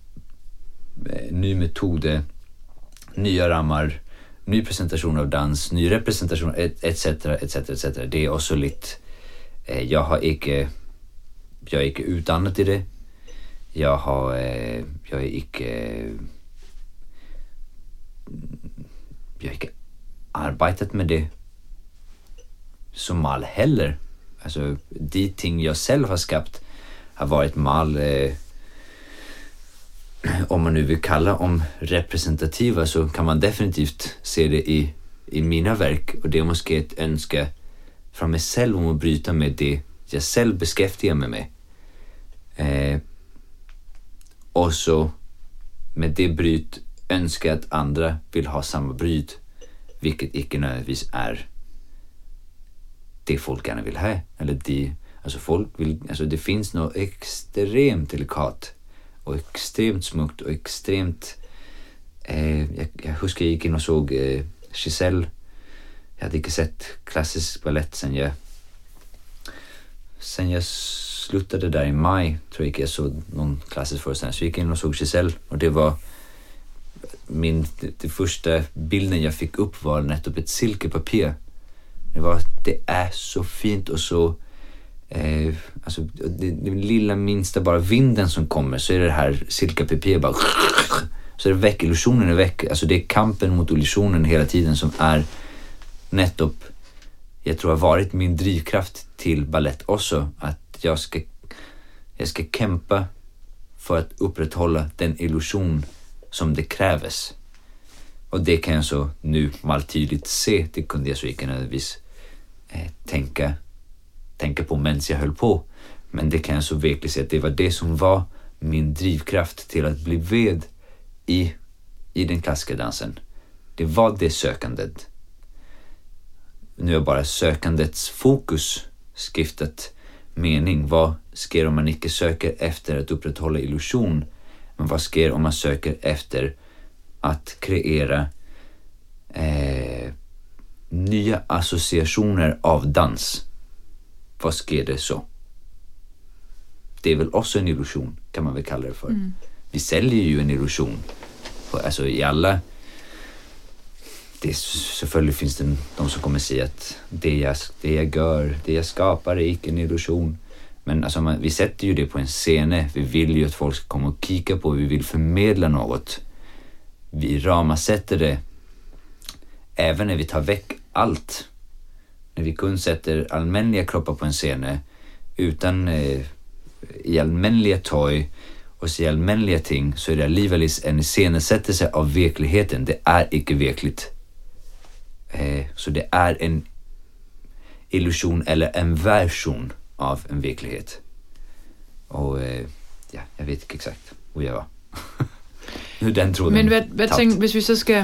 ny metod, nya ramar, ny presentation av dans, ny representation, etc. Det är också lite jag är inte utannat i det. Jag är inte arbetat med det som mal heller. Alltså de ting jag själv har skapat har varit mal om man nu vill kalla om representativa, så kan man definitivt se det i mina verk, och det är måske ett önska från mig själv om att bryta med det jag själv beskäftigar mig med. Och så med det bryt önskar att andra vill ha samma bryt, vilket inte nödvändigtvis är det folk gärna vill ha, eller det finns något extremt delikat och extremt smukt och extremt jag huskar jag gick in och såg Giselle. Jag hade inte sett klassisk ballett sen jag slutade där i maj, tror jag inte jag såg någon klassisk föreställning. Så jag gick in och såg Giselle, och det var det första bilden jag fick upp var nettopp ett silkepapper. Det är så fint och så alltså det lilla minsta bara vinden som kommer, så är det här silkepapper bara så är det väck, illusionen är väck. Alltså det är kampen mot illusionen hela tiden som är nettopp, jag tror har varit min drivkraft till ballett också, att jag ska kämpa för att upprätthålla den illusion som det krävs. Och det kan jag så nu mal tydligt se. Det kunde jag så inte nödvändigtvis tänka tänka på medan jag höll på. Men det kan jag så verkligen säga att det var det som var min drivkraft till att bli ved i den klassiska dansen. Det var det sökandet. Nu är bara sökandets fokus skiftat mening. Vad sker om man inte söker efter att upprätthålla illusion? Men vad sker om man söker efter att kreera nya associationer av dans? Vad sker det så? Det är väl också en illusion, kan man väl kalla det för. Vi säljer ju en illusion. Alltså i alla... Selvfølgelig finns det de som kommer säga att det jag gör, det jag skapar är inte en illusion. Men alltså vi sätter ju det på en scen. Vi vill ju att folk ska komma och kika på. Vi vill förmedla något. Vi ramasätter det. Även när vi tar väck allt. När vi kun sätter allmänliga kroppar på en scen utan i allmänliga tøj och så i allmänliga ting, så är det alligevel en iscenesättelse av verkligheten. Det är inte verkligt. Så det är en illusion eller en version av en verklighet. Och ja, jag vet inte exakt hur jag var. Hur den tråden. Men hvad tænker, hvis vi så skal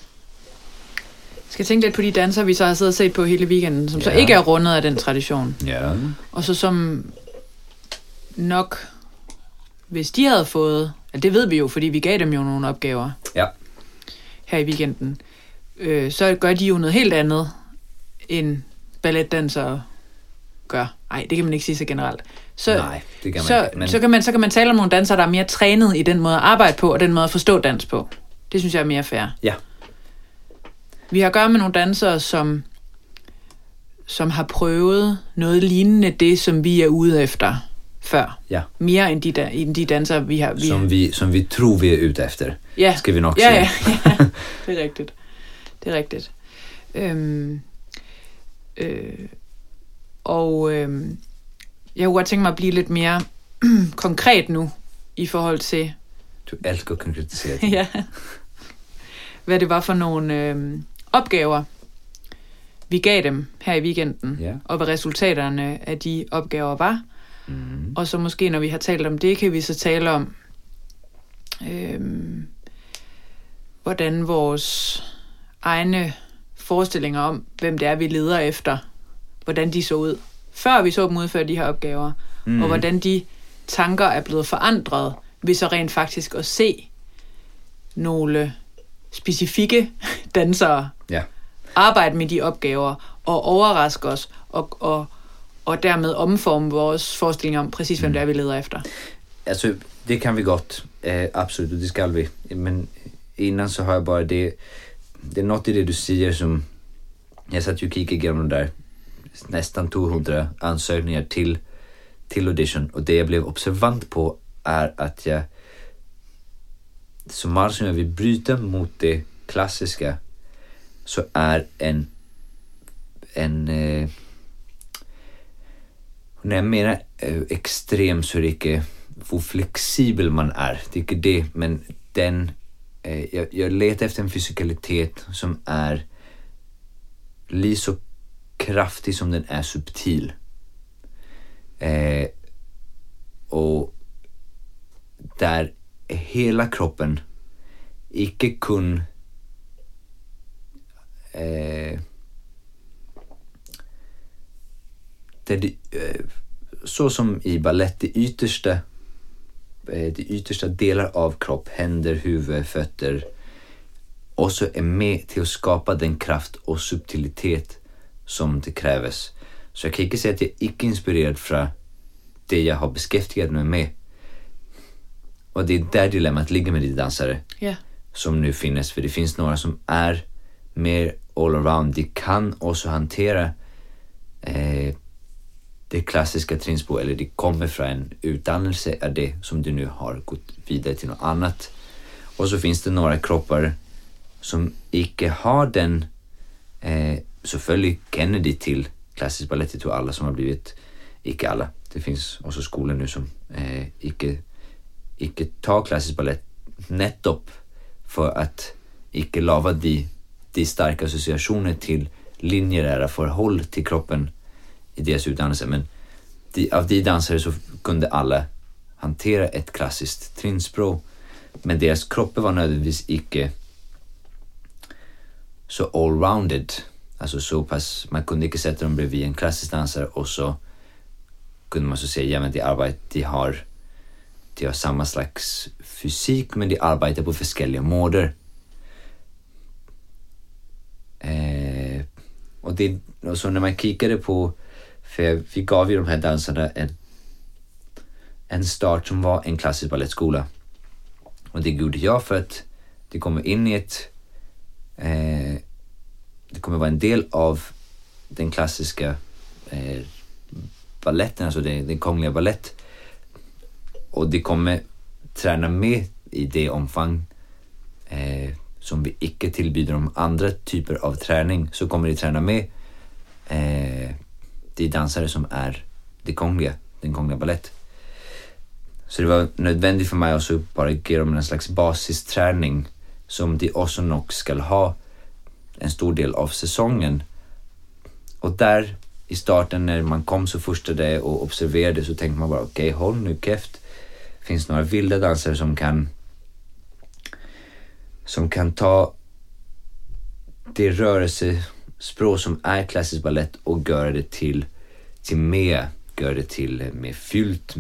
tænke lidt på de danser, vi så har siddet og set på hele weekenden, som så ikke er rundet af den tradition. Ja. Og så som nok, hvis de havde fået, det ved vi jo, fordi vi gav dem jo nogle opgaver her i weekenden, så gør de jo noget helt andet, end balletdansere gør. Nej, det kan man ikke sige så generelt. Nej, det kan man ikke. Men... Så kan man tale om nogle dansere, der er mere trænet i den måde at arbejde på, og den måde at forstå dans på. Det synes jeg er mere fair. Ja. Vi har at gøre med nogle dansere, som har prøvet noget lignende det, som vi er ude efter før. Ja. Mere end de dansere, vi har. Som vi tror, vi er ute efter. Ja. Skal vi nok sige. Ja. Det er rigtigt. Det er rigtigt. Jeg kunne godt tænke mig at blive lidt mere konkret nu, i forhold til... Du elsker at konkretisere det. Ja. Hvad det var for nogle opgaver, vi gav dem her i weekenden, og hvad resultaterne af de opgaver var. Og så måske, når vi har talt om det, kan vi så tale om, hvordan vores egne forestillinger om, hvem det er, vi leder efter, hvordan de så ud, før vi så dem udføre de her opgaver, og hvordan de tanker er blevet forandret, ved så rent faktisk at se nogle specifikke dansere arbejde med de opgaver, og overraske os, og dermed omforme vores forestillinger om præcis, hvem det er, vi leder efter. Altså, det kan vi godt. Absolut, det skal vi. Men innan så har jag bara det är något i det du säger som jag satt ju och kikade igenom de där nästan 200 ansökningar till audition, och det jag blev observant på är att jag som allt som jag vill bryta mot det klassiska, så är när jag menar extrem, så är det inte hur flexibel man är. Det är inte det, men den jag letar efter en fysikalitet som är lika så kraftig som den är subtil. Och där hela kroppen inte kun så som i ballett, de yttersta delar av kropp, händer, huvud, fötter, och så är med till att skapa den kraft och subtilitet som det krävs. Så jag kan inte säga att jag inte är inspirerad från det jag har beskäftigat mig med. Och det är där dilemmat ligger med de dansare som nu finns. För det finns några som är mer all around. De kan också hantera det klassiska trinspo, eller det kommer från en utdannelse av det som du nu har gått vidare till något annat. Och så finns det några kroppar som inte har den, selvfølgelig känner de till klassisk balett. Jag tror alla som har blivit, inte alla, det finns också skolor nu som inte tar klassisk balett nettopp för att inte lava de starka associationer till linjerära förhåll till kroppen i deras utdannelse, men av de dansare så kunde alla hantera ett klassiskt trinspråk, men deras kroppar var nödvändigtvis inte så allrounded, alltså så pass, man kunde inte sätta dem bredvid en klassisk dansare och så kunde man så säga, ja men de har samma slags fysik, men de arbetar på olika måder. Och så när man kikade på, för vi gav ju de här dansarna en start som var en klassisk ballettskola. Och det gjorde jag för att det kommer in i det kommer vara en del av den klassiska balletten, alltså den kungliga ballett. Och det kommer träna med i det omfång som vi icke tillbyder om andra typer av träning, så kommer de träna med de dansare som är den kungliga ballett. Så det var nödvändigt för mig också bara ge dem en slags basisträning som de också nog ska ha en stor del av säsongen. Och där i starten när man kom så första dag och observerade, så tänkte man bara okej, håll nu käft. Finns några vilda dansare som kan ta det rörelsespråk som är klassisk ballett och göra det till mer fyllt,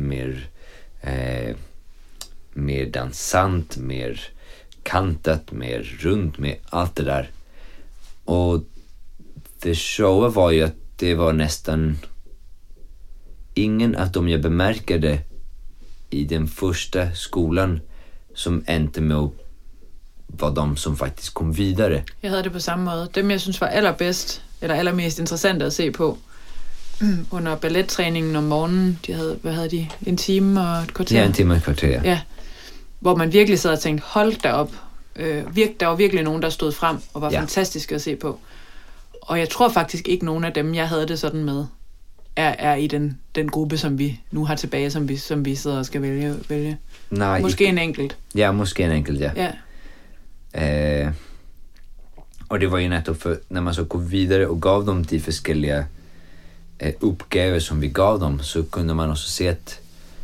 mer dansant, mer kantat, mer runt, med allt det där. Och det showa var ju att det var nästan ingen av dem jag bemärkade i den första skolan som inte med var de som faktiskt kom vidare. Jag hade det på samma måde. Dem jag synes var allerbedst, eller allermest interessant at se på, under ballettræningen om morgenen, hvad havde de? En time og et kvarter? Ja, en time og et kvarter. Ja, hvor man virkelig sad og tænkte, hold da op. Der var virkelig nogen, der stod frem og var fantastiske at se på. Og jeg tror faktisk ikke, nogen af dem, jeg havde det sådan med, er i den gruppe, som vi nu har tilbage, som vi sidder og skal vælge. Nej, måske en enkelt. Ja, måske en enkelt, ja. Och det var ju nettopp för när man så går vidare och gav dem de olika uppgifter som vi gav dem, så kunde man också se att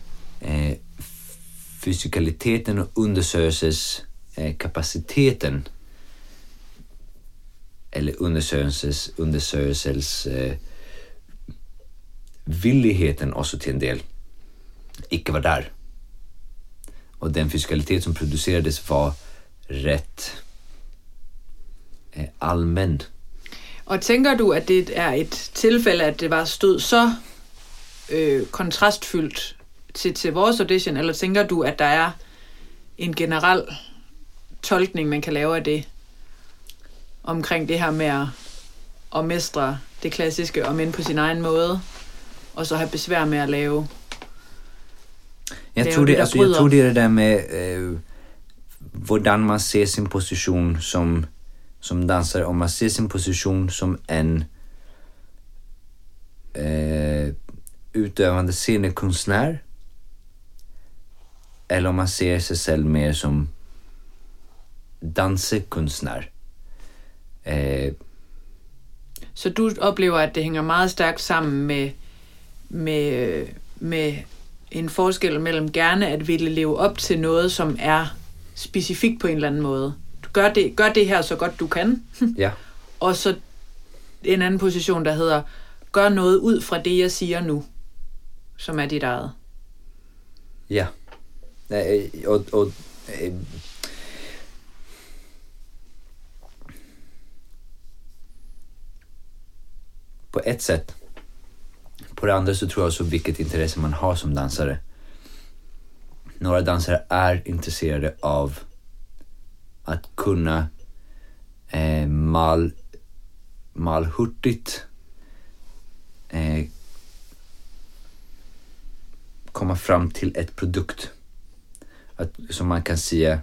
fysikaliteten och undersökelseskapaciteten eller undersökelsens villigheten också till en del icke var där. Och den fysikalitet som producerades var rätt allmän. Og tænker du, at det er et tilfælde, at det var stod så kontrastfyldt til vores audition, eller tænker du, at der er en generel tolkning, man kan lave af det, omkring det her med at mestre det klassiske, om end på sin egen måde, og så have besvær med at lave jeg tror det er det der med hvordan man ser sin position som dansare, om man ser sin position som en utövande scenekonstnär, eller om man ser sig själv mer som dansekonstnär. Så du oplever, at det hænger meget stærkt sammen med en forskel mellem gerne at ville leve op til noget, som er specifikt på en eller anden måde. Du gør det her så godt du kan. Ja. Og så en anden position, der hedder, gør noget ud fra det, jeg siger nu, som er dit eget. Ja. På ett sätt. På det andra så tror jag så vilket intresse man har som dansare. Några dansare är intresserade av att kunna malhurtigt komma fram till ett produkt. Som man kan säga,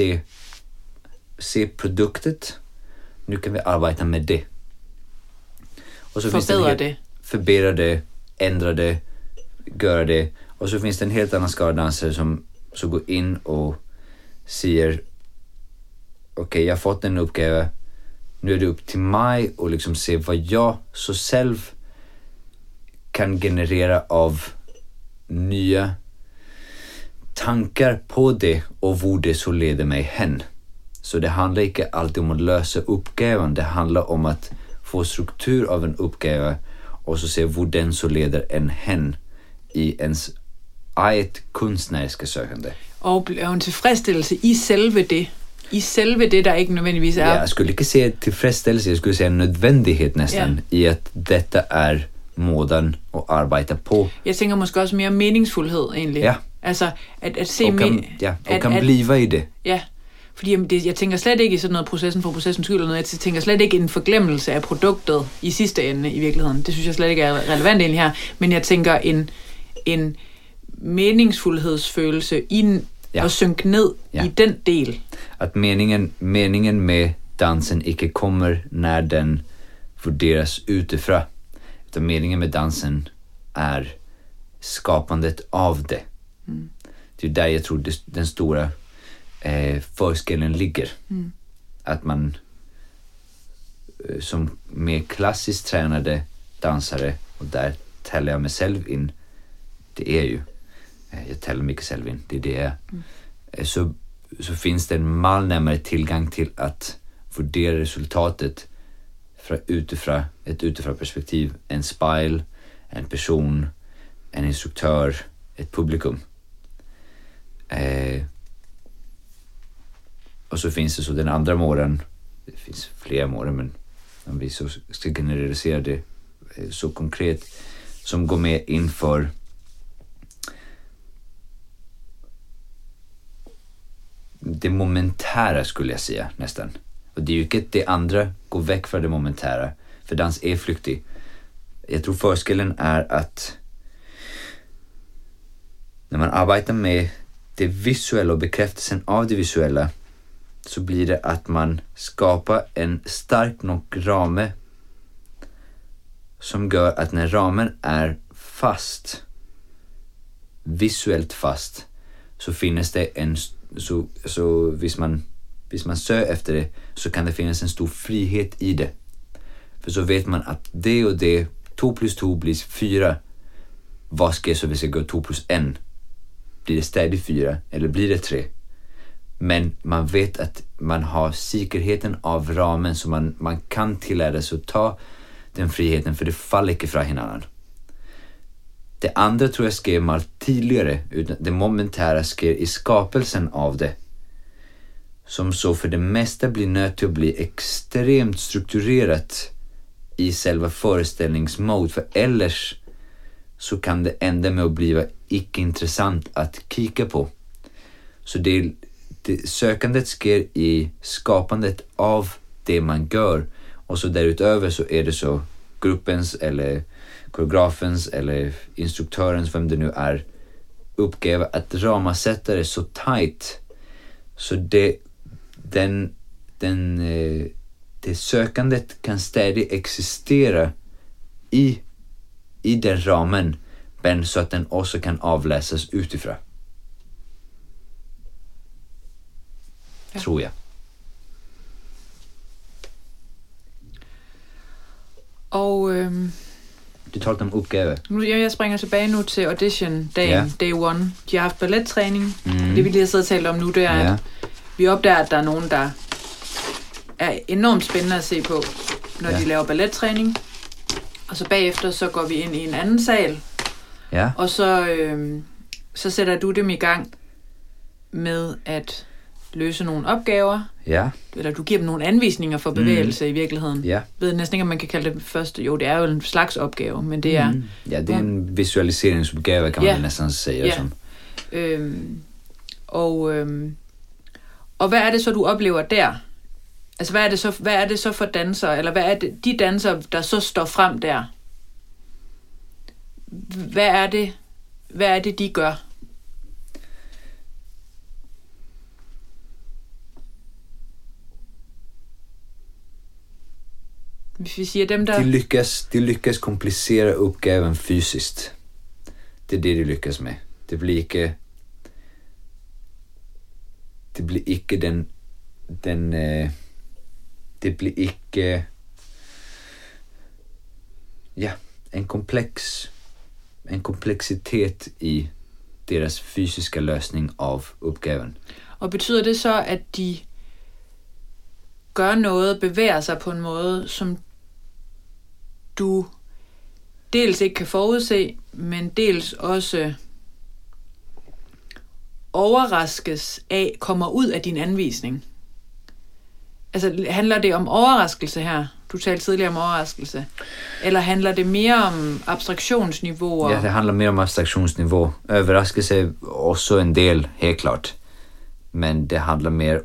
se produktet. Nu kan vi arbeta med det. Och så förbättra det, ändra det, göra det. Och så finns det en helt annan skara dansare som går in och säger okej, jag har fått en uppgave. Nu är det upp till mig och liksom se vad jag så själv kan generera av nya tankar på det och hvor det så leder mig hen. Så det handlar inte alltid om att lösa uppgaven, det handlar om att få struktur av en uppgave och så se hvor den så leder en hen i ens eget kunstneriske søgende. Og en tilfredsstillelse i selve det. I selve det, der ikke nødvendigvis er... Jeg skulle ikke sige tilfredsstillelse, jeg skulle sige en nødvendighed næsten, i at dette er måden at arbejde på. Jeg tænker måske også mere meningsfuldhed egentlig. Ja. Altså at se... Og kan blive i det. Ja, fordi jeg tænker slet ikke i sådan noget processen for processens skyld eller noget. Jeg tænker slet ikke en forglemmelse af produktet i sidste ende i virkeligheden. Det synes jeg slet ikke er relevant egentlig her. Men jeg tænker en meningsfuldhedsfølelse i at synke ned i den del. At meningen med dansen ikke kommer når den vurderas utifrån. Utan meningen med dansen är skapandet av det. Det är där jag tror den stora forskellen ligger. Att man som mer klassiskt tränade dansare, och där täller jag mig själv in, det är ju jag täller mycket själv in, det är det så finns det en mal närmare tillgång till att värdera resultatet utifrån ett utifrån perspektiv, en spegel, en person, en instruktör, ett publikum. Och så finns det så den andra målen, det finns flera målen, men om vi så ska generalisera det så konkret, som går med inför det momentära skulle jag säga nästan. Och det är ju inte det andra går väck från det momentära, för dans är flyktig. Jag tror forskellen är att när man arbetar med det visuella och bekräftelsen av det visuella, så blir det att man skapar en stark nog rame som gör att när ramen är fast, visuellt fast, så finns det en så hvis man söker efter det, så kan det finnas en stor frihet i det. För så vet man att det och det, 2 + 2 blir 4. Vad ska jag så hvis jag går 2 + 1? Blir det stadigt 4 eller blir det 3? Men man vet att man har säkerheten av ramen, så man kan tillära sig att ta den friheten, för det faller inte från hinanden. Det andra tror jag sker mal tidigare, utan det momentära sker i skapelsen av det. Som så för det mesta blir nödt till att bli extremt strukturerat i själva föreställningsmode, för ellers så kan det ända med att bli icke intressant att kika på. Så det sökandet sker i skapandet av det man gör, och så därutöver så är det så gruppens eller koreografens eller instruktörens, vem det nu är, uppgave att ramasätta det så tight så det sökandet kan stadigt existera i den ramen, men så att den också kan avläsas utifrån. Ja. Tror jag. Og du talte om uppgave. Jeg springer tilbage nu til audition-dagen, day one. De har haft ballettræning. Det vi lige har siddet og talt om nu, det er, at vi opdager, at der er nogen, der er enormt spændende at se på, når de laver ballettræning. Og så bagefter, så går vi ind i en anden sal. Ja. Og så sætter du dem i gang med at løse nogle opgaver. Ja. Eller du giver dem nogle anvisninger for bevægelse i virkeligheden. Ja. Jeg ved næsten ikke, om man kan kalde det første. Jo, det er jo en slags opgave, men det er... Ja, det er en visualiseringsopgave, kan man næsten sige. Ja. Som. Og hvad er det så, du oplever der? Altså, hvad er det så for dansere, eller hvad er det, de dansere, der så står frem der? Hvad er det, de gør? Hvis vi siger dem, der... De lyckas komplicera uppgaven fysiskt. Det är det de lyckas med. Det blir ikke en komplex en komplexitet i deras fysiska lösning av uppgaven. Og betyder det så, at de gør noget, bevæger sig på en måde, som du dels ikke kan forudse, men dels også overraskes af, kommer ud af din anvisning? Altså, handler det om overraskelse her? Du talte tidligere om overraskelse. Eller handler det mere om abstraktionsniveauer? Ja, det handlar mer om abstraktionsnivå. Överraskelse är också en del, helt klart. Men det handlar mer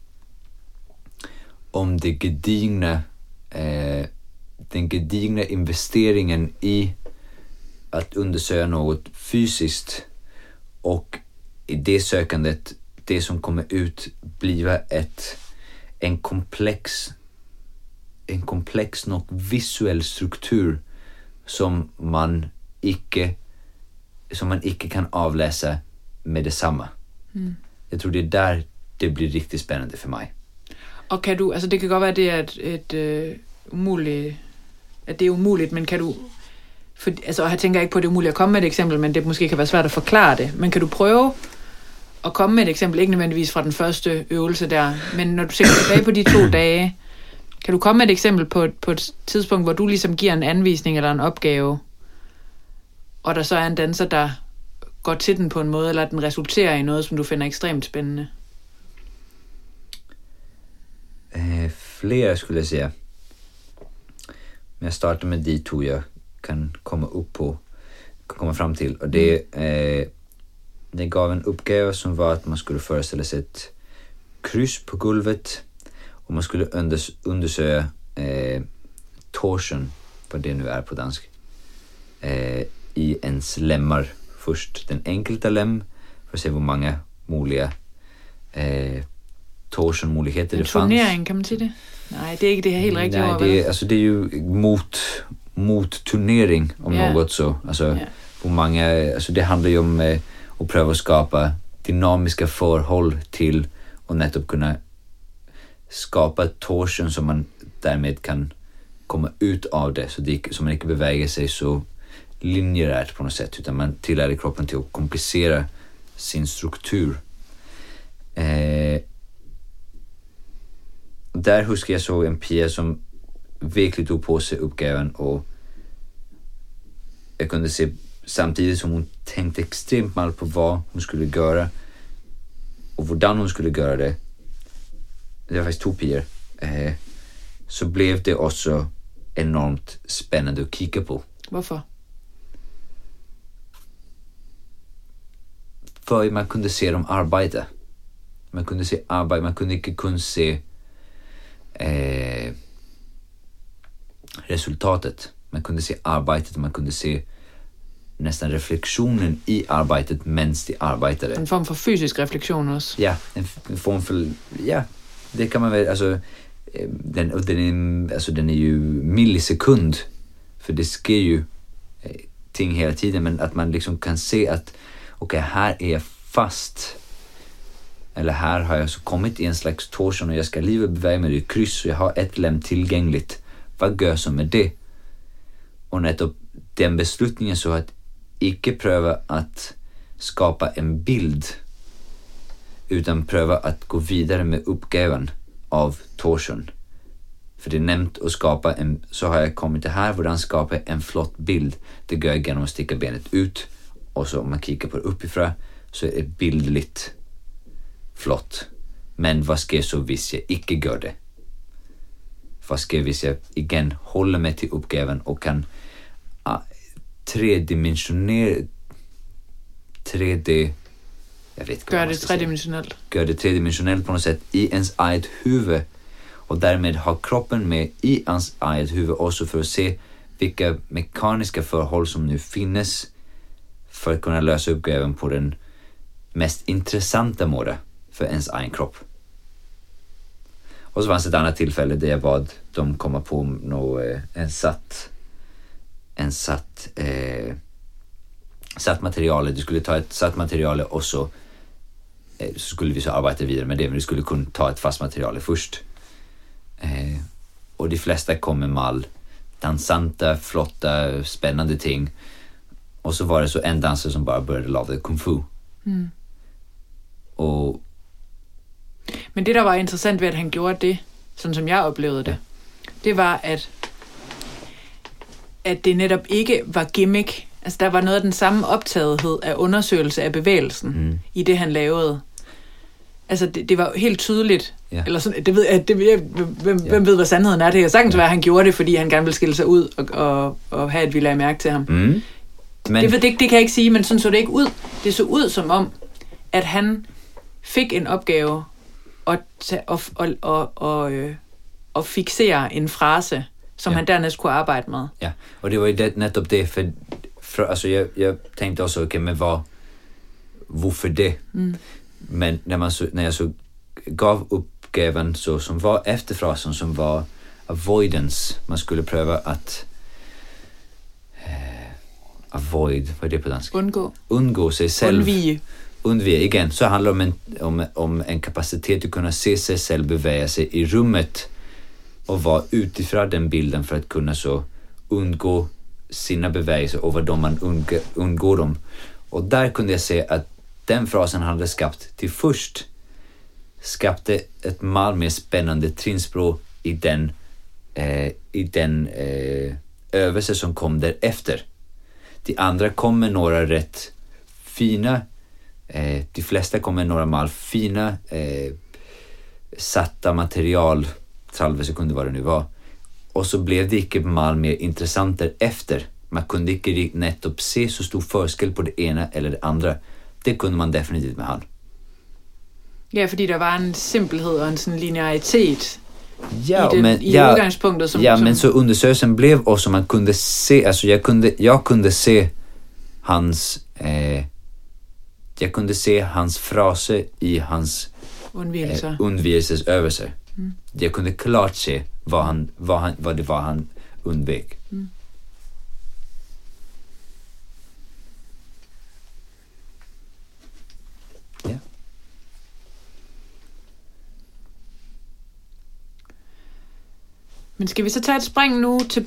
om det gedigna, den gedigna investeringen i att undersöka något fysiskt, och i det sökandet, det som kommer ut blir en komplex och visuell struktur som man icke kan avläsa med detsamma. Jag tror det är där det blir riktigt spännande för mig. Og kan du, altså det kan godt være, at det er at det er umuligt, men kan du, altså jeg tænker ikke på, at det er umuligt at komme med et eksempel, men det måske kan være svært at forklare det, men kan du prøve at komme med et eksempel, ikke nødvendigvis fra den første øvelse der, men når du tænker tilbage på de 2 dage, kan du komme med et eksempel på et tidspunkt, hvor du ligesom giver en anvisning eller en opgave, og der så er en danser, der går til den på en måde, eller den resulterer i noget, som du finder ekstremt spændende? Flera skulle jag säga. Men jag startar med de 2 jag kan komma fram till. Och det gav en uppgave som var att man skulle föreställa sig ett kryss på golvet, och man skulle undersöka torsion, vad det nu är på dansk, i ens lemmar. Först den enkelta lem för att se hur många möjliga torsionmuligheter det fanns. En turnering, kan man säga det? Nej, det är inte det helt rigtigt ord. Nej, det är ju mot turnering om något så. Alltså, hur många, alltså det handlar ju om att pröva att skapa dynamiska förhåll till och nettopp kunna skapa torsion som man därmed kan komma ut av det, så man inte beväger sig så linjerärt på något sätt, utan man tillär kroppen till att komplicera sin struktur. Där huskar jag så en Pia som verkligen tog på sig uppgaven, och jag kunde se samtidigt som hon tänkte extremt mal på vad hon skulle göra och hurdan hon skulle göra det. Det var faktiskt 2 Pior. Så blev det också enormt spännande att kika på. Varför? För man kunde se dem arbeta. Man kunde se arbete, man kunde inte kun se resultatet. Man kunde se arbetet, man kunde se nästan reflektionen i arbetet medan de arbetade. En form för fysisk reflektion också. Ja, en form för, ja, det kan man väl, alltså den är ju millisekund, för det sker ju ting hela tiden, men att man liksom kan se att okej, här är jag fast, eller här har jag så kommit i en slags torsion och jag ska livet beväga mig i kryss och jag har ett lem tillgängligt. Vad gör jag så med det? Och nettopp den beslutningen, så att icke pröva att skapa en bild, utan pröva att gå vidare med uppgaven av torsion. För det är nämnt att skapa så har jag kommit till här, hur skapa en flott bild. Det gör jag genom att sticka benet ut, och så om man kikar på det uppifrån så är det bildligt flott. Men vad ska jag så hvis jag icke gör det? Vad ska jag hvis jag igen håller mig till uppgaven och kan tredimensionera, gör det tredimensionellt. Gör det tredimensionellt på något sätt i ens eget huvud, och därmed ha kroppen med i ens eget huvud också, för att se vilka mekaniska förhåll som nu finns för att kunna lösa uppgaven på den mest intressanta måte för ens egen kropp. Och så fanns det ett annat tillfälle där jag bad dem komma på satt material. Du skulle ta ett satt material och så skulle vi så arbeta vidare med det, men du skulle kunna ta ett fast material först. Och de flesta kom med dansanta, flotta, spännande ting. Och så var det så en dansare som bara började lave kung fu. Og Men det, der var interessant ved, at han gjorde det, sådan som jeg oplevede det, det var, at det netop ikke var gimmick. Altså, der var noget af den samme optagethed af undersøgelse af bevægelsen i det, han lavede. Altså, det var helt tydeligt. Ja. Eller sådan, det ved jeg, hvem ved, hvad sandheden er? Det kan sagtens være, at han gjorde det, fordi han gerne ville skille sig ud og have, at vi lagde mærke til ham. Men det kan jeg ikke sige, men sådan så det ikke ud. Det så ud som om, at han fik en opgave og fixere en frase, som han dernæst kunne arbejde med. Ja, og det var ju netop det, för alltså jag tänkte också, okej, men hvorfor det? Men när jag så gav uppgaven så som var efterfrasen, som var avoidance, man skulle pröva att avoid, vad är det på dansk? Undgå sig själv. Undvige igen, så handlar det om en kapacitet att kunna se sig själv beväga sig i rummet och vara utifrån den bilden för att kunna så undgå sina bevägelser och vad man undgår dem. Och där kunde jag se att den frasen hade skapat till först skapade ett mal mer spännande trinspråk i den övelse som kom därefter. De andra kom med några rätt fina, de flesta kom med några mal fina satta material, salvelse kunde vad det nu var. Och så blev det inte mal mer intressant därefter. Man kunde inte nettopp se så stor forskel på det ena eller det andra. Det kunde man definitivt med han. Ja, fordi der var en simpelhed og en sådan linearitet i udgangspunktet. Som men så undersökelsen blev också man kunde se, alltså jag kunde se hans jag kunde se hans frase i hans undvikelsesövelse. Jag kunde klart se vad det var han undvek. Ja. Men skal vi så tage et spring nu til...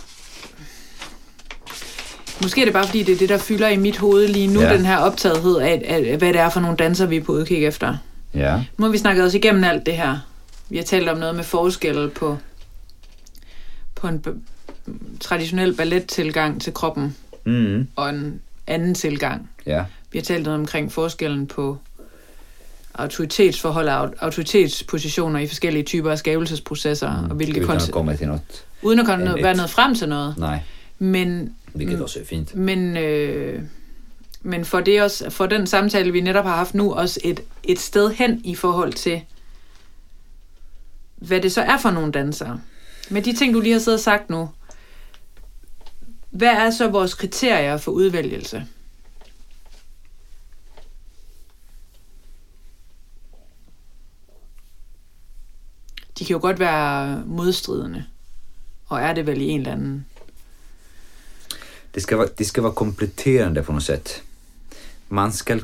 Måske er det bare fordi, det er det, der fylder i mit hoved lige nu, den her optagethed af, hvad det er for nogle danser, vi er på udkig efter. Ja. Nu har vi snakket os igennem alt det her. Vi har talt om noget med forskelle på en traditionel ballettilgang til kroppen og en anden tilgang. Ja. Vi har talt noget omkring forskellen på autoritetsforhold og autoritetspositioner i forskellige typer af skabelsesprocesser og hvilke uden at komme være noget frem til noget. Nej. Men hvilket også er fint. Men for det også, for den samtale vi netop har haft nu, også et sted hen i forhold til hvad det så er for nogle dansere. Med de ting du lige har siddet og sagt nu, hvad er så vores kriterier for udvælgelse? De kan jo godt være modstridende, og er det vel i en eller anden. Det ska vara kompletterande på något sätt. Man ska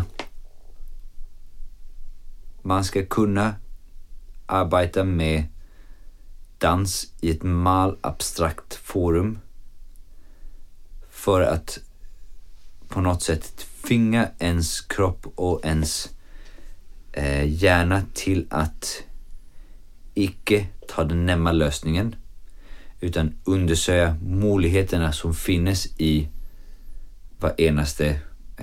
kunna arbeta med dans i ett mal abstrakt forum för att på något sätt tvinga ens kropp och ens hjärna till att icke ta den nämma lösningen utan undersöka möjligheterna som finns i vad enaste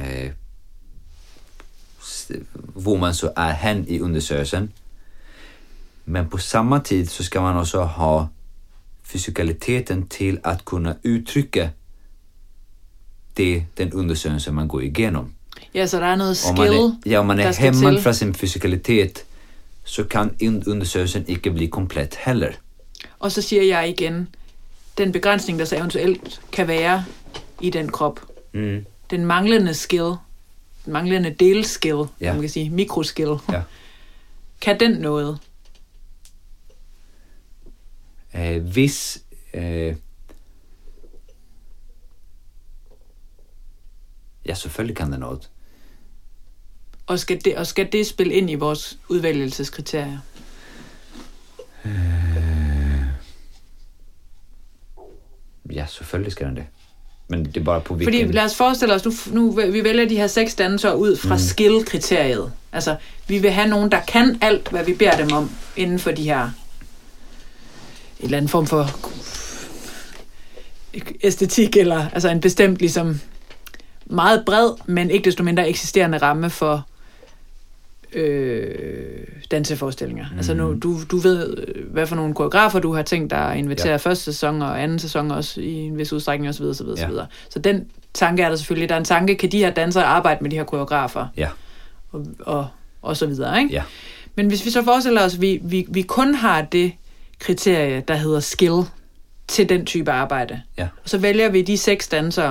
hvor man så är hen i undersökelsen. Men på samma tid så ska man också ha fysikaliteten till att kunna uttrycka den undersökelsen man går igenom. Ja, så der er noget skill. Om man är hämmad från sin fysikalitet så kan undersökelsen ikke bli komplett heller. Og så siger jeg igen, den begrænsning, der så eventuelt kan være i den krop, den manglende skill, den manglende delskill, man kan sige, mikroskill, kan den noget? Hvis ja, selvfølgelig kan det noget. Og skal det spille ind i vores udvælgelseskriterier? Ja, selvfølgelig skal den det. Men det er bare på hvilken... Fordi lad os forestille os, nu vi vælger de her 6 dansere ud fra skill-kriteriet. Altså, vi vil have nogen, der kan alt, hvad vi beder dem om, inden for de her... En eller anden form for æstetik, eller altså en bestemt, ligesom meget bred, men ikke desto mindre eksisterende ramme for danseforestillinger. Altså nu, du ved, hvad for nogle koreografer du har tænkt dig at invitere første sæson og anden sæson også i en vis udstrækning osv. Så den tanke er der selvfølgelig. Der er en tanke, kan de her dansere arbejde med de her koreografer? Ja. Og så videre, ikke? Ja. Men hvis vi så forestiller os, at vi kun har det kriterie, der hedder skill, til den type arbejde. Ja. Og så vælger vi de 6 dansere,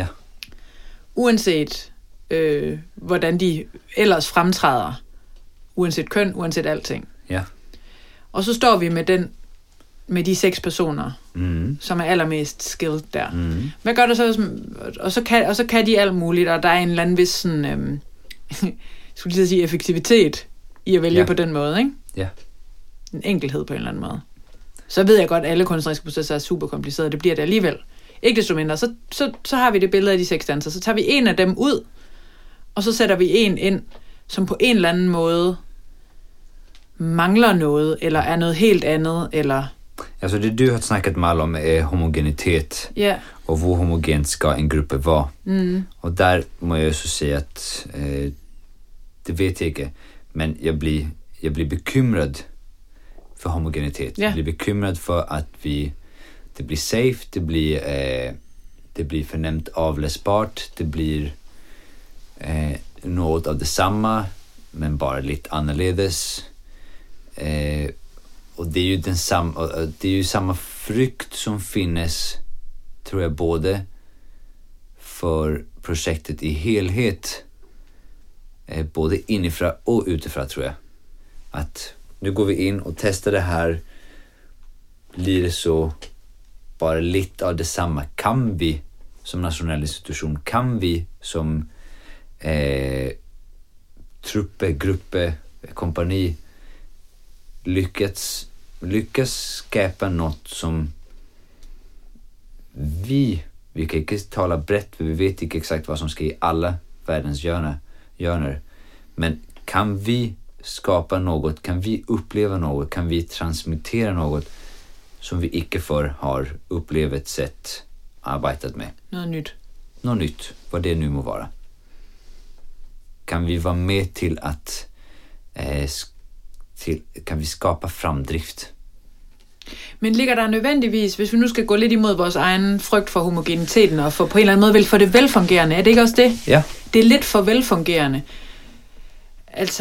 uanset hvordan de ellers fremtræder, uanset køn, uanset alting. Ja. Og så står vi med de 6 personer, som er allermest skilled der. Hvad gør det så? Og så kan de alt muligt, og der er en eller anden vis sådan, skulle lige sige effektivitet i at vælge på den måde, ikke? Ja. En enkelhed på en eller anden måde. Så ved jeg godt, at alle kunstneriske processer er super komplicerede. Det bliver det alligevel. Ikke desto mindre. Så har vi det billede af de 6 dansere. Så tager vi en af dem ud, og så sætter vi en ind, som på en eller anden måde mangler noget, eller er noget helt andet, eller... Altså det du har snakket meget om er homogenitet, og hvor homogent skal en gruppe være. Og der må jeg så sige, at det vet jeg ikke, men jeg blir bekymrad for homogenitet. Jeg blir bekymrad for at det blir safe, det blir fornemt avlæsbart, det blir något av detsamma, men bare lidt anderledes. Och det är ju samma frykt som finnes, tror jag, både för projektet i helhet, både inifrån och utifrån, tror jag. Att nu går vi in och testar det här, blir det så bara lite av detsamma. Kan vi som nationell institution, kan vi som truppe, gruppe, kompani lyckas skapa något som vi kan inte tala brett, för vi vet inte exakt vad som ska i alla världens hjörnor. Men kan vi skapa något, kan vi uppleva något, kan vi transmittera något som vi inte för har upplevt, sett, arbetat med. Något nytt, vad det nu må vara. Kan vi vara med till att kan vi skapa fremdrift? Men ligger der nødvendigvis, hvis vi nu skal gå lidt imod vores egen frygt for homogeniteten, og for på en eller anden måde vel for det velfungerende, er det ikke også det? Ja. Det er lidt for velfungerende. Altså,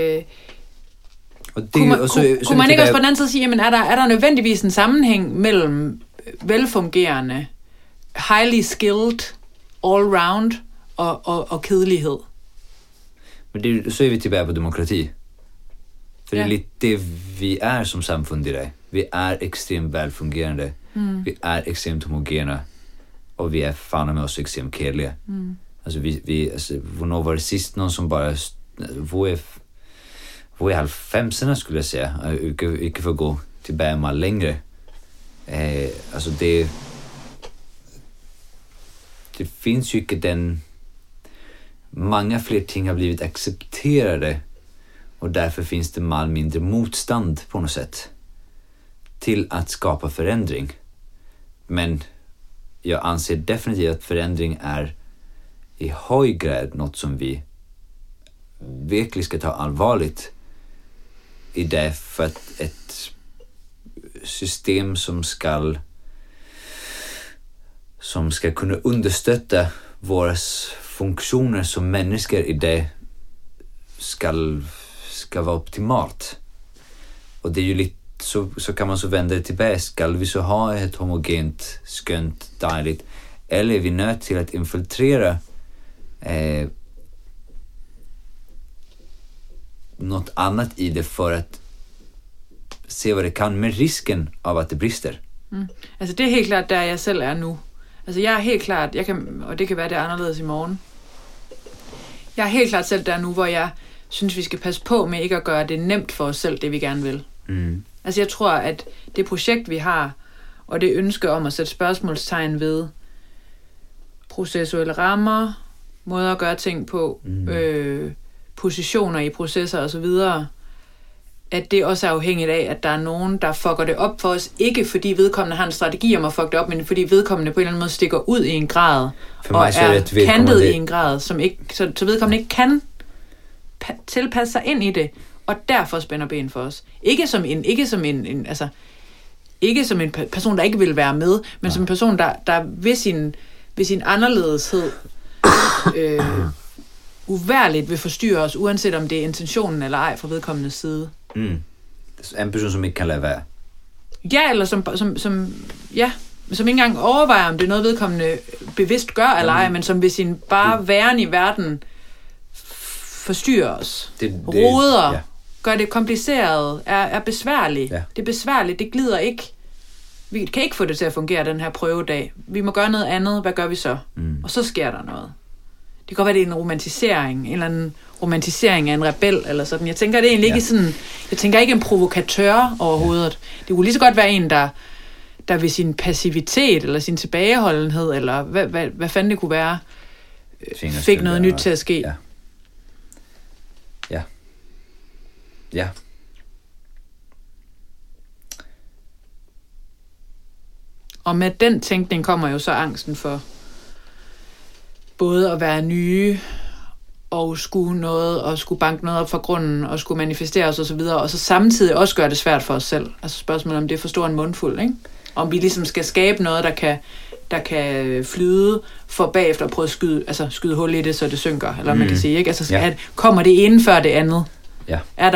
kunne man ikke også på den anden side sige, jamen er der nødvendigvis en sammenhæng mellem velfungerende, highly skilled, all round og kedelighed? Men så är vi tillbaka på demokrati. För det är lite det vi är som samfund i det. Vi är extremt välfungerande. Vi är extremt homogena. Och vi är fan med oss extremt kedliga. Alltså alltså, när var det sist någon som bara... Hvor är 90-erna skulle jag säga. Inte för att gå tillbaka mal längre. Alltså det finns ju inte den... Många fler ting har blivit accepterade, och därför finns det mal mindre motstånd på något sätt till att skapa förändring. Men jag anser definitivt att förändring är i hög grad något som vi verkligen ska ta allvarligt i det, för att ett system som ska kunna understötta våra funktioner som människor i det ska vara optimalt. Och det är ju lite så kan man så vända det tillbaka. Ska vi så ha ett homogent, skönt, dejligt, eller är vi nödt till att infiltrera något annat i det för att se vad det kan, med risken av att det brister? Altså det er helt klart der jeg selv er nu. Altså jeg er helt klart, og det kan være det er anderledes i morgen. Jeg er helt klart selv der nu, hvor jeg synes vi skal passe på med ikke at gøre det nemt for os selv, det vi gerne vil. Altså jeg tror at det projekt vi har, og det ønske om at sætte spørgsmålstegn ved processuelle rammer, måder at gøre ting på, positioner i processer osv., at det også er afhængigt af, at der er nogen, der fucker det op for os, ikke fordi vedkommende har en strategi om at fucke det op, men fordi vedkommende på en eller anden måde stikker ud i en grad, og er kantet i en grad, som ikke, så vedkommende ikke kan tilpasse sig ind i det, og derfor spænder ben for os. Ikke som en person, der ikke vil være med, men som en person, der ved sin anderledeshed uværligt vil forstyrre os, uanset om det er intentionen eller ej fra vedkommendes side. En person, som ikke kan lade være. Ja, eller som ikke engang overvejer, om det er noget, vedkommende bevidst gør eller ej, men som ved sin bare væren i verden forstyrrer os. Roder, gør det kompliceret, er besværligt. Ja. Det er besværligt, det glider ikke. Vi kan ikke få det til at fungere den her prøvedag. Vi må gøre noget andet, hvad gør vi så? Og så sker der noget. Det kan godt være, det er en romantisering, en eller anden romantisering af en rebel, eller sådan. Jeg tænker, det er egentlig ikke sådan, jeg tænker ikke en provokatør overhovedet. Det kunne lige så godt være en, der ved sin passivitet, eller sin tilbageholdenhed, eller hvad fanden det kunne være, fik noget nyt til at ske. Ja. Og med den tænkning kommer jo så angsten for både at være nye, og skulle banke noget op fra grunden, og skulle manifestere os og så videre, og så samtidig også gøre det svært for os selv. Altså spørgsmålet om det er for stor en mundfuld, ikke? Om vi ligesom skal skabe noget, der kan flyde, for bagefter at prøve at skyde hul i det, så det synker, eller man kan sige, ikke? Altså kommer det ene før det andet? Ja. Er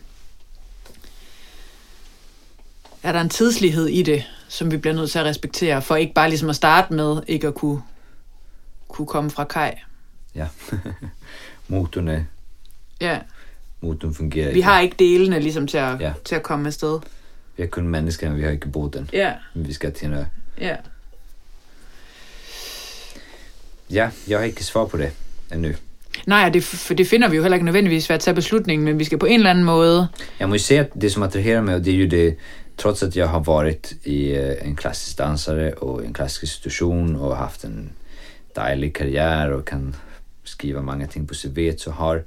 der en tidslighed i det, som vi bliver nødt til at respektere, for ikke bare ligesom at starte med, ikke at kunne komme fra kaj. Ja. Motoren fungerer. Vi har ikke delene ligesom til at komme afsted. Vi har kun mennesker, men vi har ikke båden. Ja. Men vi skal til noget. Ja. Ja, jeg har ikke svar på det endnu. Nej, for det finder vi jo heller ikke nødvendigvis ved at tage beslutningen, men vi skal på en eller anden måde... Jeg må ju säga att det som attraherar mig, och det är ju det, trots att jag har varit i en klassisk dansare och en klassisk institution och haft en dejlig karriär och kan skriva många ting på CV, så har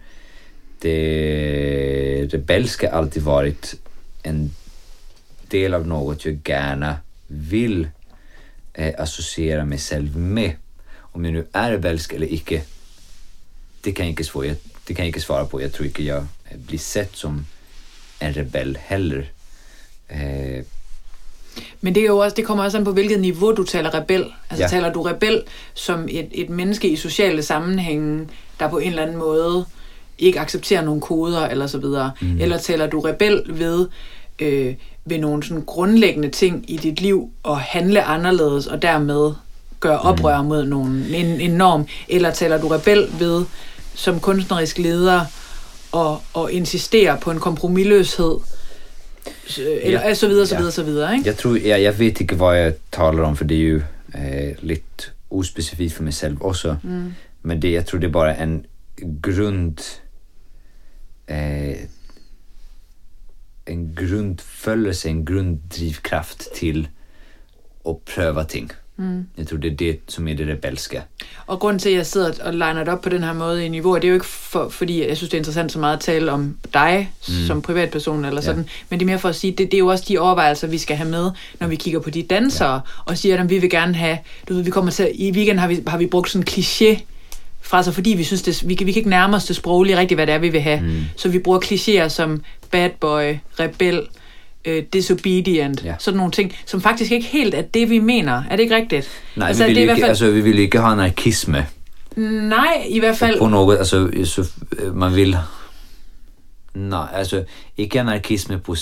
det rebelska alltid varit en del av något jag gärna vill associera mig själv med. Om jag nu är rebelsk eller icke, det kan jag inte svara på. Jag tror inte jag blir sett som en rebel heller. Men det er jo også, det kommer også an på, hvilket niveau du taler rebel. Altså taler du rebel som et menneske i sociale sammenhænge, der på en eller anden måde ikke accepterer nogle koder eller så videre. Eller taler du rebel ved nogle sådan grundlæggende ting i dit liv og handle anderledes og dermed gøre oprør mod en norm. Eller taler du rebel ved som kunstnerisk leder og insistere på en kompromisløshed, eller så videre, ikke? Jeg vet ikke, hvad jeg taler om, for det er jo lidt uspecifikt for mig selv også. Men jeg tror, det er bare en grundfølelse, en grunddrivkraft til at prøve ting. Jeg tror, det er det, som er det rebelske. Og grunden til, at jeg sidder og liner det op på den her måde i niveau, det er jo ikke fordi jeg synes, det er interessant så meget at tale om dig som privatperson eller sådan, men det er mere for at sige, det er jo også de overvejelser, vi skal have med, når vi kigger på de dansere, og siger, at vi vil gerne have, vi kommer til, i weekenden har vi brugt sådan en kliché fra sig, fordi vi synes, vi kan ikke nærme os det sproglige rigtigt, hvad det er, vi vil have. Så vi bruger klichéer som bad boy, rebel, disobedient, sådan nogle ting, som faktisk ikke helt er det, vi mener. Er det ikke rigtigt? Nej, altså, vi vil ikke have anarkisme. Nej, i hvert fald... På noget, altså, man vil... Nej, altså, ikke anarkisme på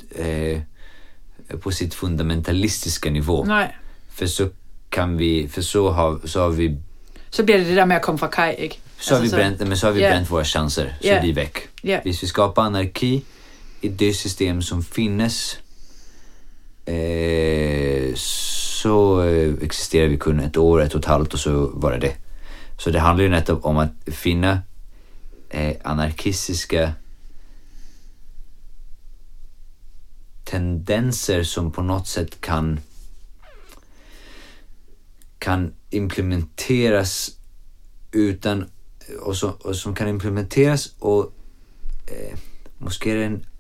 sit fundamentalistiske niveau. Nej. For så har vi... Så bliver det der med at komme fra kaj, ikke? Så har vi brændt vores chancer, så de er væk. Hvis vi skaber anarki i det system som finnes, så existerar vi kun ett år, ett och ett halvt, och så var det. Så det handlar ju nettopp om att finna anarkistiska tendenser som på något sätt kan implementeras utan, och som kan implementeras och måske är det en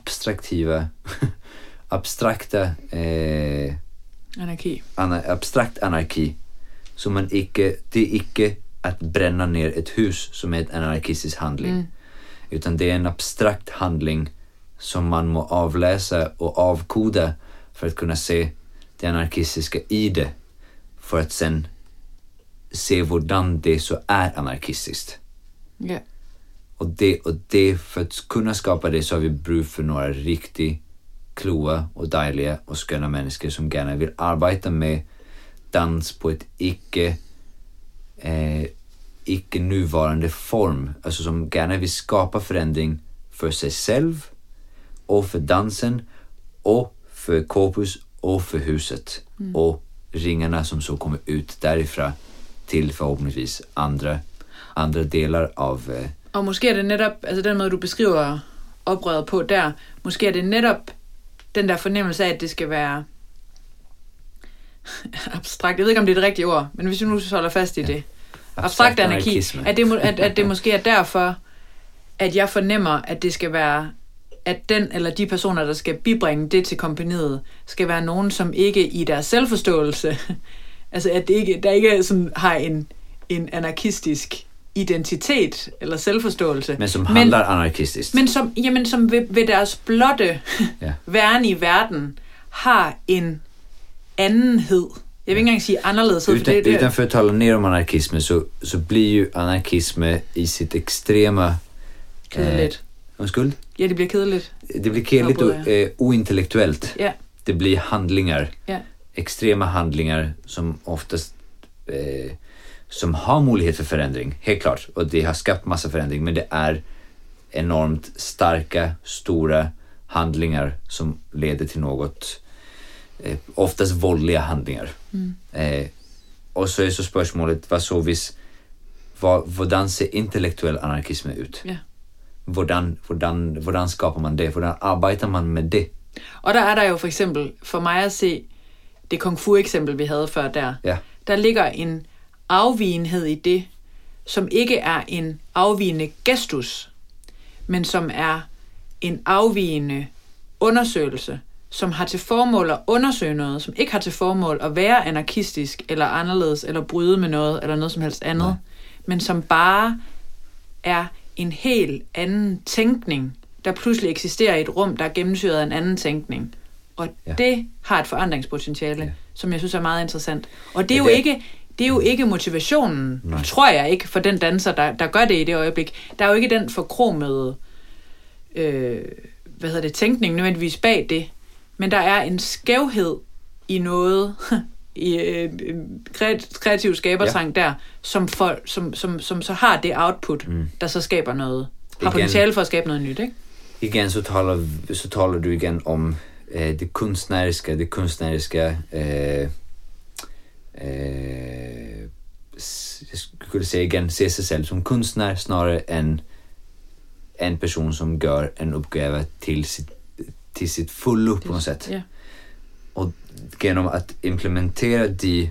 abstrakta Anarki. Abstrakt anarki. Så det är icke att bränna ner ett hus som är en anarkistisk handling. Utan det är en abstrakt handling som man må avläsa och avkoda för att kunna se det anarkistiska i det. För att sen se hvordan det så är anarkistiskt. Ja. Och det för att kunna skapa det så har vi brug för några riktigt kloa och dejliga och sköna människor som gärna vill arbeta med dans på ett icke nuvarande form. Alltså som gärna vill skapa förändring för sig själv och för dansen och för Corpus och för huset. Och ringarna som så kommer ut därifrån till förhoppningsvis andra delar av... Og måske er det netop, altså den måde, du beskriver oprøret på der, måske er det netop den der fornemmelse af, at det skal være abstrakt. Jeg ved ikke, om det er det rigtige ord, men hvis vi nu holder fast i det. Abstrakt anarki. At det måske er derfor, at jeg fornemmer, at det skal være, at den eller de personer, der skal bibringe det til kompagniet, skal være nogen, som ikke i deres selvforståelse, altså at der ikke sådan har en anarkistisk identitet eller selvforståelse. Men som handler anarkistisk. Men som ved deres blotte væren i verden har en andenhed. Jeg vil ikke engang sige anderledeshed. Utan för att tala ner om anarkisme så blir ju anarkisme i sitt extrema... Kedeligt. Undskyld? Ja, det bliver kedeligt. Det blir kedeligt och ointellektuellt. Ja. Det blir handlingar. Ja. Extrema handlingar som oftast... som har möjlighet för förändring, helt klart. Och det har skapat massa förändring. Men det är enormt starka, stora handlingar som leder till något... oftast våldliga handlingar. Och så är så spörsmålet, hvordan ser intellektuell anarkisme ut? Ja. Hvordan skapar man det? Hvordan arbetar man med det? Og der er der jo for eksempel, for mig at se, det kung fu eksempel, vi havde før der. Ja. Der ligger en afvigenhed i det, som ikke er en afvigende gestus, men som er en afvigende undersøgelse, som har til formål at undersøge noget, som ikke har til formål at være anarkistisk, eller anderledes, eller bryde med noget, eller noget som helst andet, men som bare er en helt anden tænkning, der pludselig eksisterer i et rum, der er gennemsyret af en anden tænkning. Og det har et forandringspotentiale, som jeg synes er meget interessant. Og det er jo ikke motivationen, tror jeg ikke, for den danser, der gør det i det øjeblik. Der er jo ikke den forkromede tænkning nødvendigvis bag det. Men der er en skævhed i noget, i kreativ skabertrang der, som så har det output, der så skaber noget. Har potentiale for at skabe noget nyt, ikke? Igen så taler du igen om det konstneriska jag skulle säga igen, se sig själv som konstnär snarare än en person som gör en uppgave till sitt fullo på något sätt. Ja. Och genom att implementera de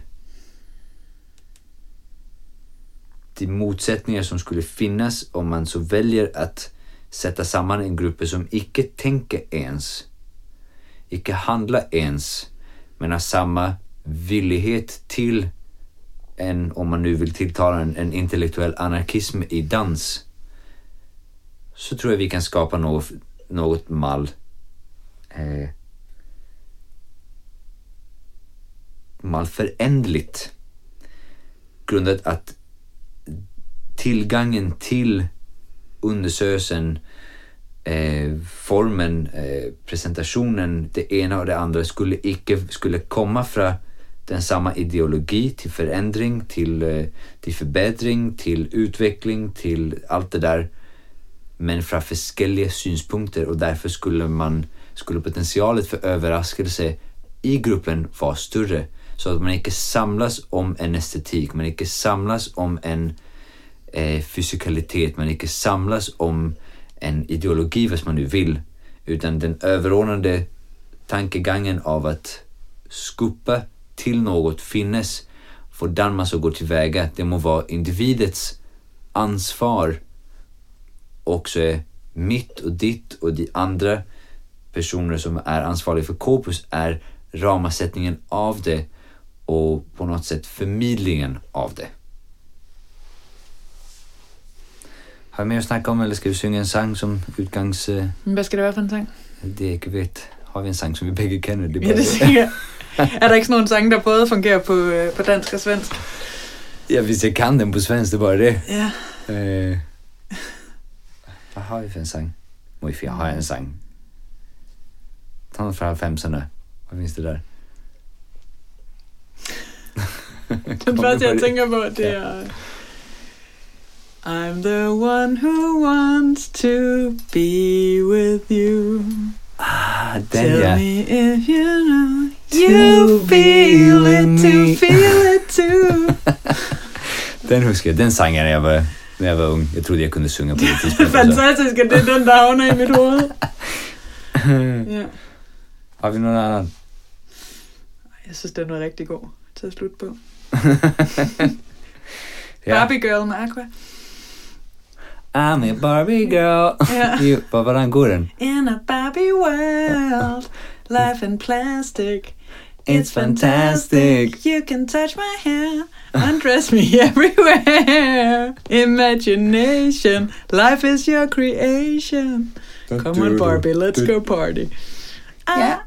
motsättningar som skulle finnas om man så väljer att sätta samman en grupp som icke tänker ens, icke handlar ens, men har samma villighet till en, om man nu vill tilltala en intellektuell anarkism i dans, så tror jag vi kan skapa något malförändligt, grundat att tillgången till undersökelsen, formen, presentationen, det ena och det andra skulle komma från den samma ideologi till förändring, till förbättring, till utveckling, till allt det där, men från olika synpunkter, och därför skulle potentialet för överraskelse i gruppen vara större, så att man inte samlas om en estetik, man inte samlas om en fysikalitet, man inte samlas om en ideologi, vad man nu vill, utan den överordnade tankegången av att skuppa till något finnes hvordan man så går tillväga. Det må vara individets ansvar. Också mitt och ditt och de andra personer som är ansvariga för Corpus är ramasättningen av det och på något sätt förmedlingen av det. Har vi mer att snacka om, eller ska vi synge en sang som utgangs... Hvad skal det være for en sang? Det ikke vet. Har vi en sang, som vi begge kender? Det ja, det siger Er der ikke sådan nogle sange, der både fungerer på dansk og svensk? Ja, hvis jeg kan dem på svensk, det er bare det. Ja. Hvad har vi for en sang? Jeg har en sang. Ta noget fra 90'erne. Hvad findes det der? Den første, jeg tænker på, det er... I'm the one who wants to be with you. Den, Tell me if you know you feel it to feel it too. Den husker jeg. Den sang jeg, når jeg var ung. Jeg troede, jeg kunne synge på det tidspunkt. Det er fantastisk, at det er den, der havner i mit hoved. Ja. Har vi noget andet? Jeg synes, den var rigtig god til at slutte på. Ja. Barbie Girl med Aqua. I'm a Barbie girl. Ja. Hvordan går den? In a Barbie world, life in plastic. It's fantastic. You can touch my hair, undress me everywhere. Imagination, life is your creation. Come on Barbie, let's go party. Yeah.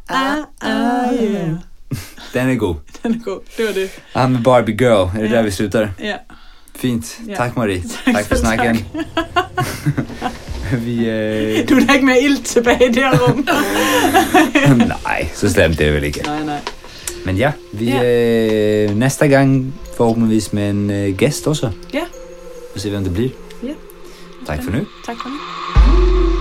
Den er god. Den er god, det var det. I'm a Barbie girl. Er det der, vi slutter? Ja. Fint. Ja. Tak, Marie. Tak for snakken. Du er da ikke mere ild tilbage i det her rum. Nej, så slemt det er vel ikke. Nej. Men ja, vi næste gang forhåbentligvis med en gæst også. Ja. Og se, hvem det bliver. Ja. Tak for nu. Tak for nu.